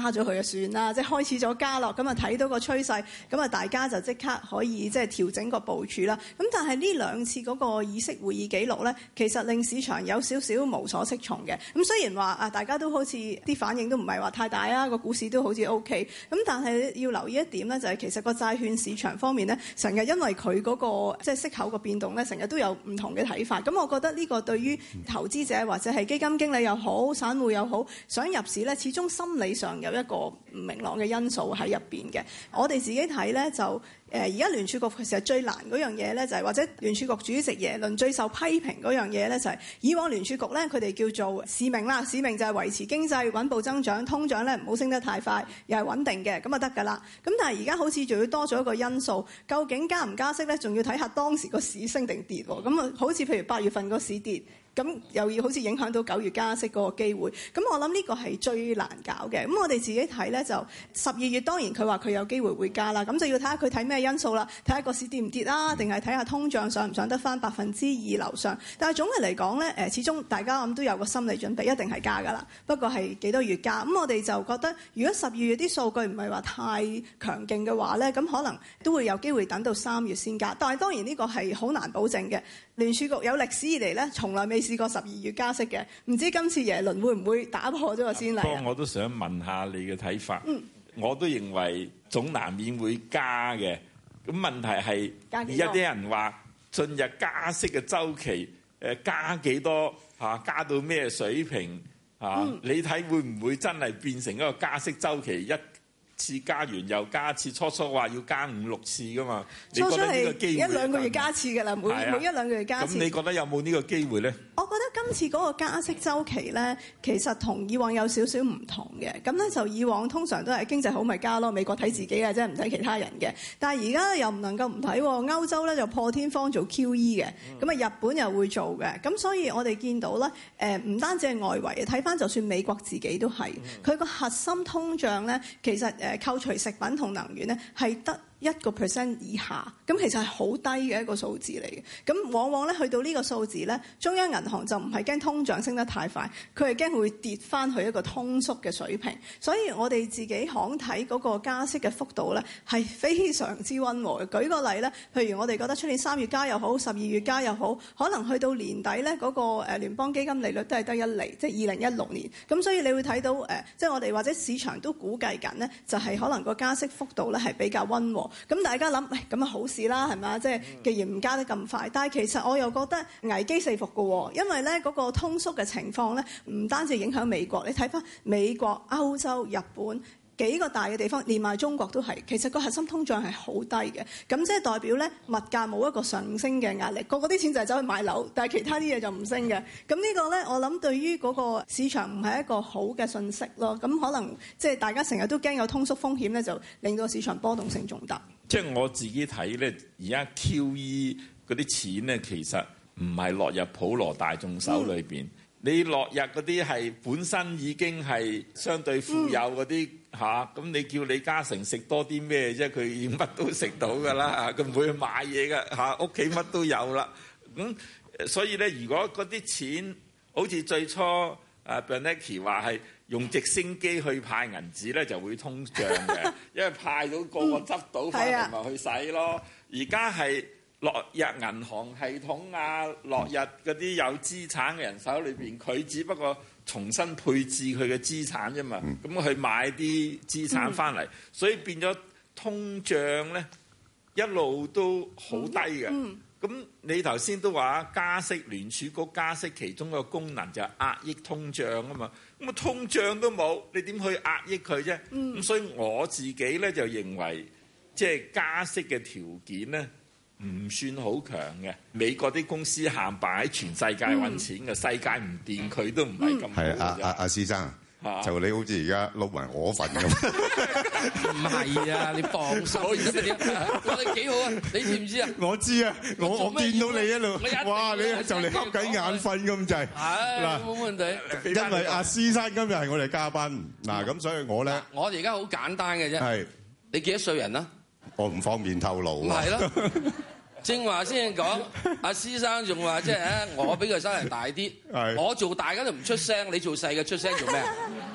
加咗佢就算啦，即係開始咗加落，咁啊睇到個趨勢，咁啊大家就即刻可以即係調整個部署啦。咁但係呢兩次嗰個議息會議記錄咧，其實令市場有少少無所適從嘅。咁雖然話啊，大家都好似啲反應都唔係話太大啊，個股市都好似 O K。咁但係要留意一點咧，就係其實個債券市場方面咧，成日因為佢嗰個即係息口個變動咧，成日都有唔同嘅睇法。咁我覺得呢個對於投資者或者係基金經理又好，散戶又好，想入市咧，始終心理上有一個唔明朗嘅因素喺入邊嘅。我哋自己睇咧就誒，而家聯儲局其實最難嗰樣嘢咧，就係或者聯儲局主席耶倫最受批評嗰樣嘢咧，就係以往聯儲局咧，佢哋叫做使命啦，使命就係維持經濟穩步增長，通脹咧唔好升得太快，又係穩定嘅，咁啊得㗎啦。咁但係而家好似仲要多咗一個因素，究竟加唔加息咧，仲要睇下當時個市升定跌喎。咁啊，好似譬如八月份個市跌。咁又要好似影響到九月加息嗰個機會，咁我諗呢個係最難搞嘅。咁我哋自己睇咧，就十二月當然佢話佢有機會會加啦，咁就要睇下佢睇咩因素啦，睇下個市跌唔跌啦，定係睇下通脹上唔上得翻百分之二樓上。但係總嘅嚟講咧，誒始終大家諗都有個心理準備，一定係加㗎啦。不過係幾多月加？咁我哋就覺得，如果十二月啲數據唔係話太強勁嘅話咧，咁可能都會有機會等到三月先加。但係當然呢個係好難保證嘅。聯儲局有歷史以嚟咧，從來未試過十二月加息嘅，唔知今次耶倫會唔會打破咗個先例啊？
不過我都想問下你嘅睇法。嗯，我都認為總難免會加嘅。咁問題係而家啲人話進入加息嘅週期，誒加幾多嚇？加到咩水平嚇？嗯、你睇會唔會真係變成一個加息週期一次加完又加一次？初初話要加五六次噶嘛？
初初係一兩個月加一次㗎啦，每、啊、每一兩個月加一次。
咁你覺得有冇呢個機會咧？
我覺得今次嗰個加息週期咧，其實同以往有少少唔同嘅。咁咧就以往通常都係經濟好咪加咯，美國睇自己嘅啫，唔睇其他人嘅。但係而家又唔能夠唔睇喎，歐洲咧就破天荒做 Q E 嘅，咁啊日本又會做嘅。咁所以我哋見到咧，誒、呃、唔單止係外圍，睇翻就算美國自己都係，佢個核心通脹咧，其實誒扣除食品同能源咧係得一個 percent 以下，咁其實係好低嘅一個數字嚟嘅。咁往往咧去到呢個數字咧，中央銀行就唔係驚通脹升得太快，佢係驚會跌翻去一個通縮嘅水平。所以我哋自己行睇嗰個加息嘅幅度咧係非常之溫和嘅。舉個例咧，譬如我哋覺得出年三月加又好，十二月加又好，可能去到年底咧嗰個誒聯邦基金利率都係得一厘，即係二零一六年。咁所以你會睇到誒，即係我哋或者市場都估計緊咧，就係可能個加息幅度咧係比較溫和。咁大家諗，喂，咁啊好事啦，係咪？即係既然唔加得咁快，但係其實我又覺得危機四伏嘅喎，因為咧嗰個通縮嘅情況咧，唔單止影響美國，你睇翻美國、歐洲、日本幾個大嘅地方，連埋中國都係，其實個核心通脹係好低嘅。咁即係代表咧物價冇一個上升嘅壓力，個個啲錢就係走去買樓，但係其他啲嘢就唔升嘅。咁呢個咧，我諗對於嗰個市場唔係一個好嘅信息咯。咁可能即係大家成日都驚有通縮風險咧，就令到市場波動性仲大。
即係我自己睇咧，而家 Q E 嗰啲錢咧，其實唔係落入普羅大眾手裏邊。嗯、你落入嗰啲係本身已經係相對富有嗰啲嚇，咁、嗯啊、你叫李嘉誠食多啲咩啫？佢已經乜都食到㗎啦，佢唔會去買嘢㗎嚇，屋企乜都有啦。咁、嗯、所以咧，如果嗰啲錢好似最初啊 Bernanke 話係用直升機去派銀紙咧，就會通脹嘅，因為派到個個執到翻嚟咪去使咯。而家係落入銀行系統啊，落入嗰啲有資產嘅人手裏邊，佢只不過重新配置佢嘅資產啫嘛。咁佢買啲資產翻嚟，所以變咗通脹咧一路都好低嘅。咁你頭先都話加息，聯儲局加息其中一個功能就係壓抑通脹啊嘛。咁啊通脹都冇，你點去壓抑佢啫？咁、嗯、所以我自己咧就認為，即係加息嘅條件咧唔算好強嘅。美國啲公司限擺喺全世界揾錢嘅，嗯、世界唔掂佢都唔係咁好嘅。
係啊啊啊，施生。就你好似而家撈埋我份咁，
唔係啊！你放心，我哋幾好啊！你知唔知啊？
我知啊，我我見到你一路，哇！你就嚟瞌緊眼瞓咁滯。
嗱，冇問題。
因為阿施生今日係我哋嘉賓，嗱咁所以我咧，
我哋而家好簡單嘅啫。係你幾多歲人啊？
我唔方便透露。
係咯。正話先講，阿施生仲話即係我比佢生人大啲，我做大嘅就唔出聲，你做細嘅出聲做咩？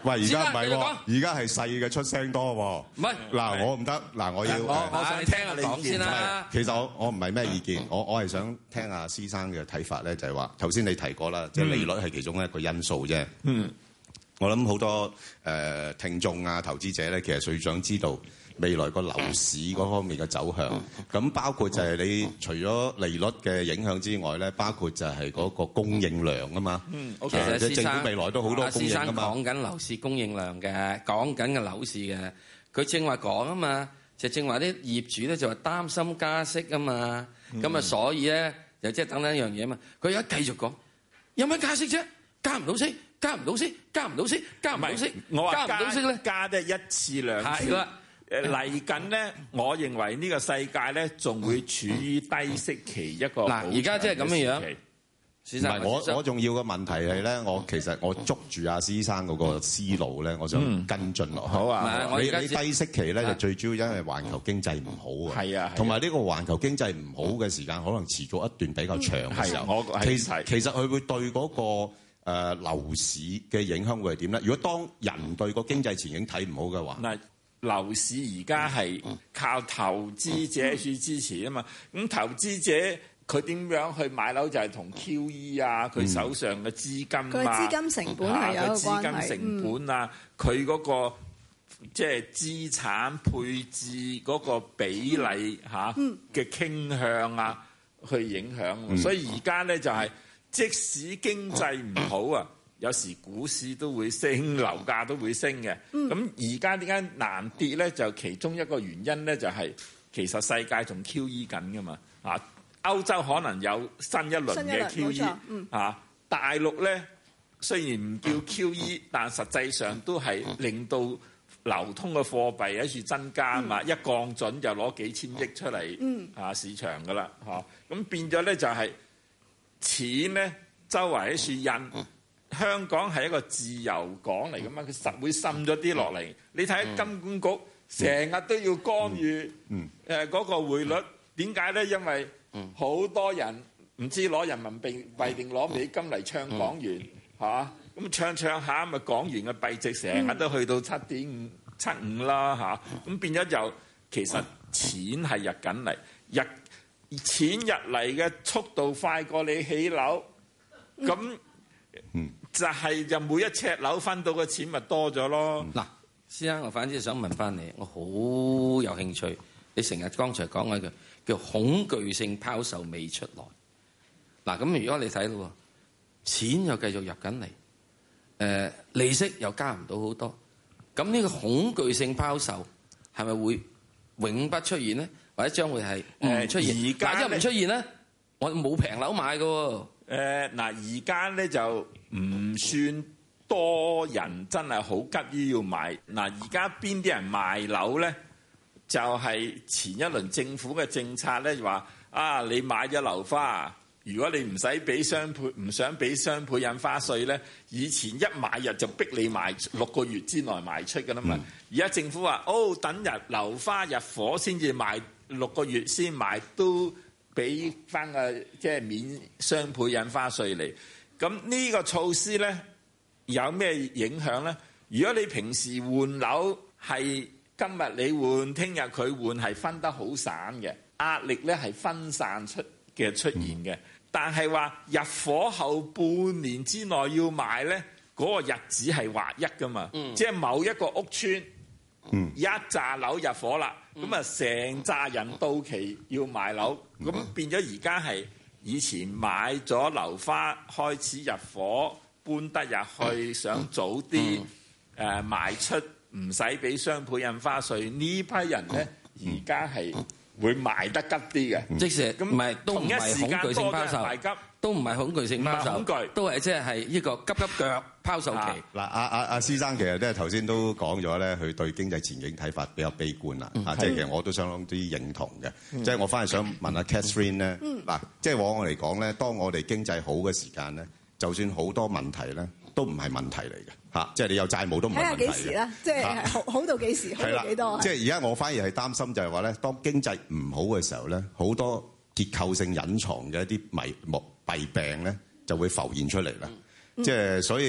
喂，而家唔係喎，而家係細嘅出聲多喎。
唔係
嗱，我唔得，嗱，我要
我我想聽下你講先啦。
其實我我唔係咩意見，我我係想聽下施生嘅睇法咧，就係話頭先你提過啦，即係利率係其中一個因素啫。嗯，我諗好多誒聽眾啊、投資者咧，其實最想知道未來個樓市嗰方面嘅走向，咁包括就係你除咗利率嘅影響之外咧，包括就係嗰個供應量啊嘛。嗯，其實政府未來都好多供應啊嘛。
講緊樓市供應量嘅，講緊嘅樓市嘅，佢正話講啊嘛，就正話啲業主咧就話擔心加息啊嘛，咁啊、嗯、所以咧就即係等等一樣嘢啊嘛，佢而家繼續講，有乜加息啫？加唔到息，加唔到息，加唔到息，加唔到息，
我話
加唔到息咧，
加得一次兩次。誒嚟緊咧，我認為呢個世界咧仲會處於低息期一個。
嗱，而家即係咁嘅樣。
唔係我我仲要嘅問題係咧，我其實我捉住阿施生嗰個思路咧，我想跟進落去。
好啊，
你你低息期咧就最主要因為環球經濟唔好啊。係啊，同埋呢個環球經濟唔好嘅時間，可能持續一段比較長嘅時候。其實其實佢會對嗰個誒樓市嘅影響會係點咧？如果當人對個經濟前景睇唔好嘅話，
嗱，樓市而家係靠投資者去支持啊嘛。咁投資者佢點樣去買樓就係同 Q E 啊，佢手上嘅資金啊，
佢資金成本係有一個關係。
佢資金成本啊，佢嗰個即係資產配置嗰個比例嚇嘅傾向啊，去影響。所以而家咧就係即使經濟唔好啊，有時股市都會升，樓價都會升嘅。咁而家點解難跌咧？就其中一個原因咧，就係其實世界仲 Q E 緊噶嘛。啊，歐洲可能有新一輪嘅 Q E。啊，大陸咧雖然唔叫 Q E，但實際上都係令到流通嘅貨幣喺處增加嘛。一降準就攞幾千億出嚟啊市場噶啦。嚇，咁變咗咧就係錢咧周圍喺處印。香港係一個自由港嚟噶嘛，佢實會滲咗啲落嚟。你睇金管局成日都要干預誒嗰個匯率，點解咧？因為好多人唔知攞人民幣定攞美金嚟唱港元嚇，咁唱唱下咪港元嘅幣值成日都去到七點五七五啦嚇，咁變咗就其實錢係入緊嚟，入錢入嚟嘅速度快過你起樓，咁。嗯，就係就每一尺樓分到嘅錢咪多咗咯。
嗱，先生，我反之想問翻你，我好有興趣。你成日剛才講嗰句叫恐懼性拋售未出來。嗱，咁如果你睇到錢又繼續入緊嚟，誒利息又加唔到好多，咁呢個恐懼性拋售係咪會永不出現咧？或者將會係誒出現？而家一唔出現咧，我冇平樓買㗎喎。
誒嗱，而家咧就唔算多人真係好急於要買。嗱，而家邊啲人賣樓咧？就係、是、前一輪政府嘅政策咧，就話啊，你買咗樓花，如果你唔使俾雙倍，唔想俾雙倍印花稅咧，以前一買入就逼你賣六個月之內賣出㗎啦嘛。而家、嗯、政府話，哦，等日樓花入伙先至賣，六個月先賣都。俾翻個即係免雙倍印花稅嚟，咁呢個措施咧有咩影響咧？如果你平時換樓係今日你換，聽日佢換，係分得好散嘅，壓力咧係分散出嘅出現嘅。嗯、但係話入伙後半年之內要賣咧，嗰、嗰個日子係劃一噶嘛，嗯、即係某一個屋村。嗯、一紮樓入伙啦，咁啊成紮人到期要賣樓，咁、嗯、變咗而家係以前買咗樓花開始入伙，搬得入去，想早啲誒、嗯呃、賣出，唔使俾雙倍印花稅，呢批人咧而家係會賣得急啲嘅，
嗯、即係咁唔係都唔係恐懼性拋售，都唔係恐懼性拋售，
恐懼
都係即係係呢個急急腳拋售期。
嗱、啊，阿阿阿施生其實咧頭先都講咗咧，佢對經濟前景睇法比較悲觀啦。啊、嗯，即係其實我都相當之認同嘅。即係、嗯、我翻嚟想問下 Catherine 咧，嗱、嗯，即係往我嚟講咧，當我哋經濟好嘅時間咧，就算好多問題咧，都唔係問題嚟嘅。嚇，即係你有債務都唔係問題嘅。睇下幾時啦，即係好好到幾時，好到幾多？即係而家我反而係擔心就係話咧，當經濟唔好嘅時候咧，好多結構性隱藏嘅一啲迷目弊病咧，就會浮現出嚟啦。即係、嗯、所以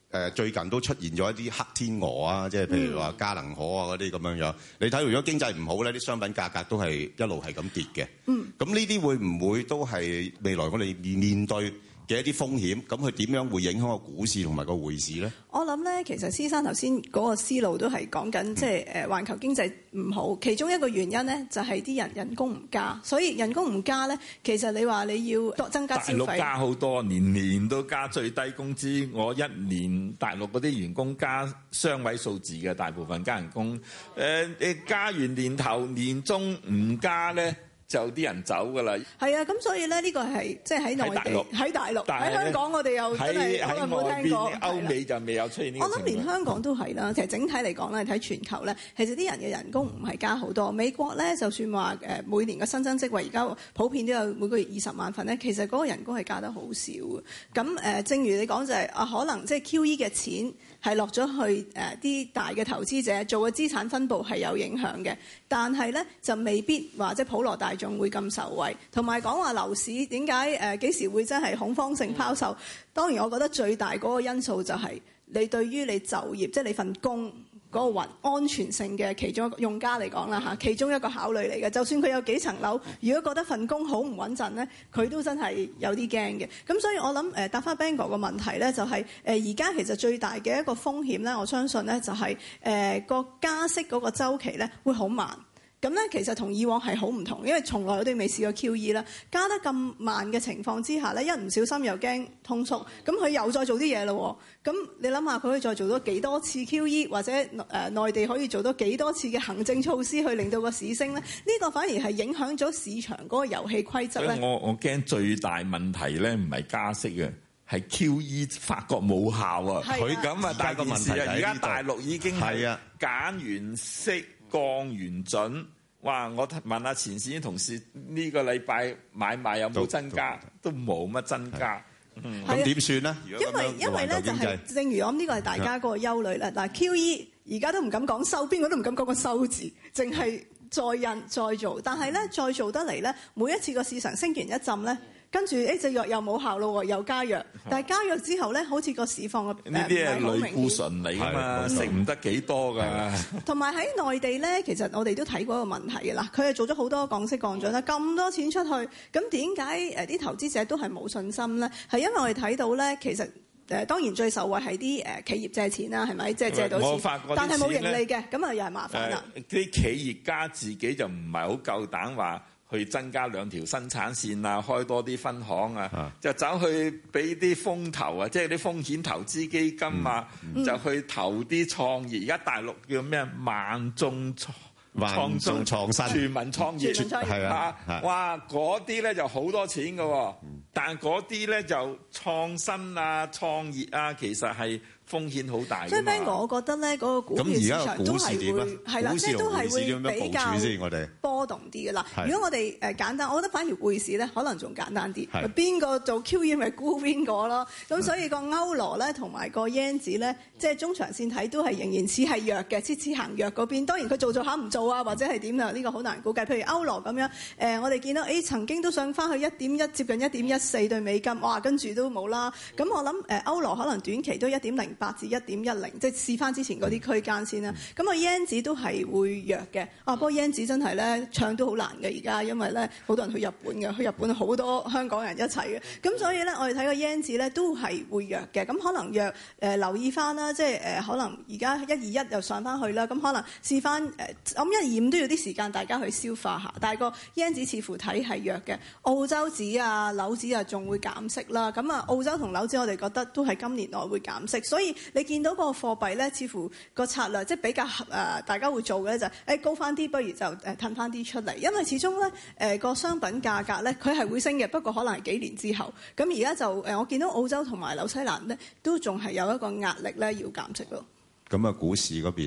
誒最近都出現咗一啲黑天鵝啊，即係譬如話嘉能可啊嗰啲咁樣樣。你睇如果經濟唔好咧，啲商品價格都係一路係咁跌嘅。嗯，咁呢啲會唔會都係未來我哋面對嘅一啲風險？咁佢點樣會影響個股市同埋個匯市咧？
我諗咧，其實施生頭先嗰個思路都係講緊，即係誒環球經濟唔好，其中一個原因咧就係啲人人工唔加，所以人工唔加咧，其實你話你要多增加消費，
大陸加好多，年年都加最低工資。我一年大陸嗰啲員工加雙位數字嘅，大部分加人工。誒、呃，你加完年頭年中唔加咧，就啲人走㗎啦。
係啊，咁所以咧呢個係即係喺內地、喺大陸、喺香港，我哋又真係好耐冇聽過。
歐美就未有出現呢個情況。
我諗連香港都係啦。其實整體嚟講咧，睇全球咧，其實啲人嘅人工唔係加好多。美國咧，就算話誒每年嘅新增職位而家普遍都有每個月二十萬份咧，其實嗰個人工係加得好少嘅。咁誒，正如你講就係啊，可能即係 Q E 嘅錢係落咗去誒啲大嘅投資者做嘅資產分佈係有影響嘅，但係咧就未必話即係普羅大眾會咁受惠。同埋講話樓市點解誒幾時會真係恐慌性拋售？當然我覺得最大嗰個因素就係你對於你就業，即係你份工嗰個安全性嘅其中一個用家嚟講啦嚇，其中一個考慮嚟嘅。就算佢有幾層樓，如果覺得份工好唔穩陣咧，佢都真係有啲驚嘅。咁所以我諗誒答翻 Bang 哥個問題咧，就係誒而家其實最大嘅一個風險咧，我相信咧就係誒個加息嗰個週期咧會好慢。咁咧其實同以往係好唔同，因為從來我哋未試過 Q E 啦，加得咁慢嘅情況之下咧，一唔小心又驚通縮，咁佢又再做啲嘢咯。咁你諗下，佢可以再做多幾多次 Q E， 或者誒、呃、內地可以做多幾多次嘅行政措施去令到個市升咧？呢、這個反而係影響咗市場嗰個遊戲規則咧。
我我驚最大問題咧唔係加息嘅，係 Q E 發覺冇效啊！佢咁啊大件事啊！而家大陸已經係減完息。降完準，哇！我問下前線啲同事，呢、這個禮拜買賣有冇增加？都冇乜增加。
咁點算呢？
因為因為咧就係、是，正如我諗呢個係大家嗰個憂慮啦。嗱 Q E 而家都唔敢講收，邊個都唔敢講個收字，淨係再印再做。但係咧再做得嚟咧，每一次個市場升完一陣咧。跟住呢隻藥又冇效咯喎，又加藥。但係加藥之後咧，好似個市況嘅
呢啲係類固醇嚟㗎嘛，食唔得幾多㗎。
同埋喺內地咧，其實我哋都睇過一個問題嘅啦。佢係做咗好多降息降準啦，咁多錢出去，咁點解誒啲投資者都係冇信心咧？係因為我哋睇到咧，其實誒當然最受惠係啲誒企業借錢啦，係咪？即係借到錢，但係冇盈利嘅，咁啊又係麻煩啦。
啲、呃、企業家自己就唔係好夠膽話。去增加兩條生產線啊，開多啲分行啊，啊就走去俾啲風投啊，即係啲風險投資基金啊，嗯、就去投啲創業。而家大陸叫咩？萬眾創
萬眾創新，
全民創業，係啊，啊！哇，嗰啲咧就好多錢㗎喎，嗯、但嗰啲咧就創新啊、創業啊，其實係。風險好大，
所以 Bang 哥，我覺得咧嗰個股票市場都係會係啦，即係都係會比較波動啲嘅啦。如果我哋誒簡單，我覺得反而匯市咧可能仲簡單啲。邊個做 Q E 咪沽邊個咯？咁所以個歐羅咧同埋個 yen 指咧，即係中長線睇都係仍然似係弱嘅，似似行弱嗰邊。當然佢做做下唔做啊，或者係點啊？呢個好難估計。譬如歐羅咁樣，誒我哋見到誒曾經都上翻去一點一，接近一點一四對美金，哇！跟住都冇啦。咁我諗誒歐羅可能短期都一點零八至一點一零，即係試翻之前嗰啲區間先啦。咁啊 yen 指都係會弱嘅。啊，不過 yen 指真係咧唱都好難嘅而家，因為咧好多人去日本嘅，去日本好多香港人一齊嘅。咁所以咧，我哋睇個 yen 指咧都係會弱嘅。咁可能弱誒、呃、留意翻啦，即係誒、呃、可能而家一二一又上翻去啦。咁可能試翻誒，咁一二五都要啲時間大家去消化下。但係個 yen 指似乎睇係弱嘅。澳洲指啊、紐指啊仲會減息啦。咁啊澳洲同紐指我哋覺得都係今年內會減息，所以你見到個貨幣咧，似乎個策略即係比較誒、呃，大家會做嘅咧就係、是、誒高翻啲，不如就誒褪翻啲出嚟，因為始終咧誒個商品價格咧佢係會升嘅，不過可能係幾年之後。咁而家就誒、呃，我見到澳洲同埋紐西蘭咧都仲係有一個壓力咧要減息咯。
咁啊，股市嗰邊咧？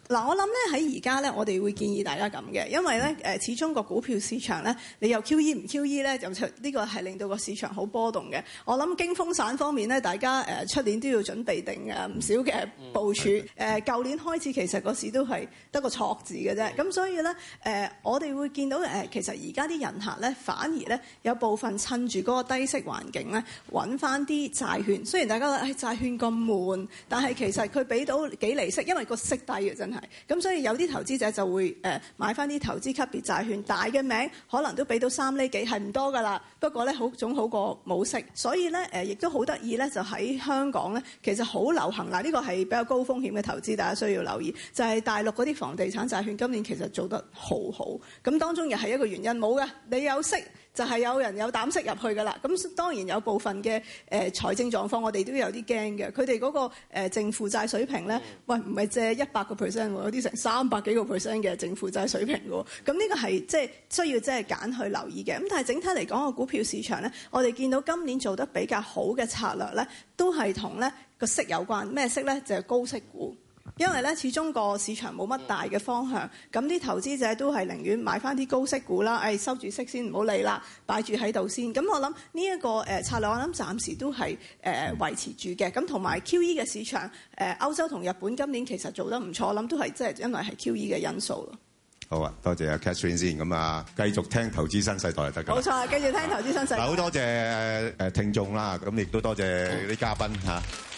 嗱，我諗咧喺而家咧，我哋會建議大家咁嘅，因為咧誒，始終個股票市場咧，你又 Q E 唔 Q E 咧，就呢個係令到個市場好波動嘅。我諗驚風散方面咧，大家誒出年都要準備定誒唔少嘅部署。誒、嗯，舊年開始其實個市都係得個錯字嘅啫。咁所以咧誒，我哋會見到誒，其實而家啲人客咧，反而咧有部分趁住嗰個低息環境咧，揾翻啲債券。雖然大家覺得誒債券咁悶，但係其實佢俾到幾厘息，因為個息低嘅真係。咁所以有啲投資者就會誒買翻啲投資級別債券，大嘅名可能都俾到三厘幾，係唔多噶啦。不過咧好總好過冇息，所以咧誒亦都好得意咧，就喺香港咧，其實好流行嗱，呢個係比較高風險嘅投資，大家需要留意，就係大陸嗰啲房地產債券今年其實做得好好。咁當中又係一個原因冇嘅，你有息。就係有人有膽識入去㗎啦，咁當然有部分嘅誒、呃、財政狀況，我哋都有啲驚嘅。佢哋嗰個誒淨負債水平咧，喂唔係借一百個 percent 喎，有啲成三百幾個 percent 嘅淨負債水平喎。咁呢個係即係需要即係揀去留意嘅。咁但係整體嚟講，個股票市場咧，我哋見到今年做得比較好嘅策略咧，都係同咧個息有關。咩息咧？就係、是、高息股。因為咧，始終個市場冇乜大嘅方向，咁啲投資者都係寧願買翻啲高息股啦。誒、哎，收住息先，唔好理啦，擺住喺度先。咁我諗呢一個誒策略，我諗暫時都係誒、呃、維持住嘅。咁同埋 Q E 嘅市場，誒、呃、歐洲同日本今年其實做得唔錯，我諗都係即係因為係 Q E 嘅因素咯。
好啊，多謝阿 Catherine 先。咁啊，繼續聽投資新世代就得㗎。
冇錯，繼續聽投資新世代。
好多謝誒聽眾啦，咁亦都多謝啲嘉賓嚇。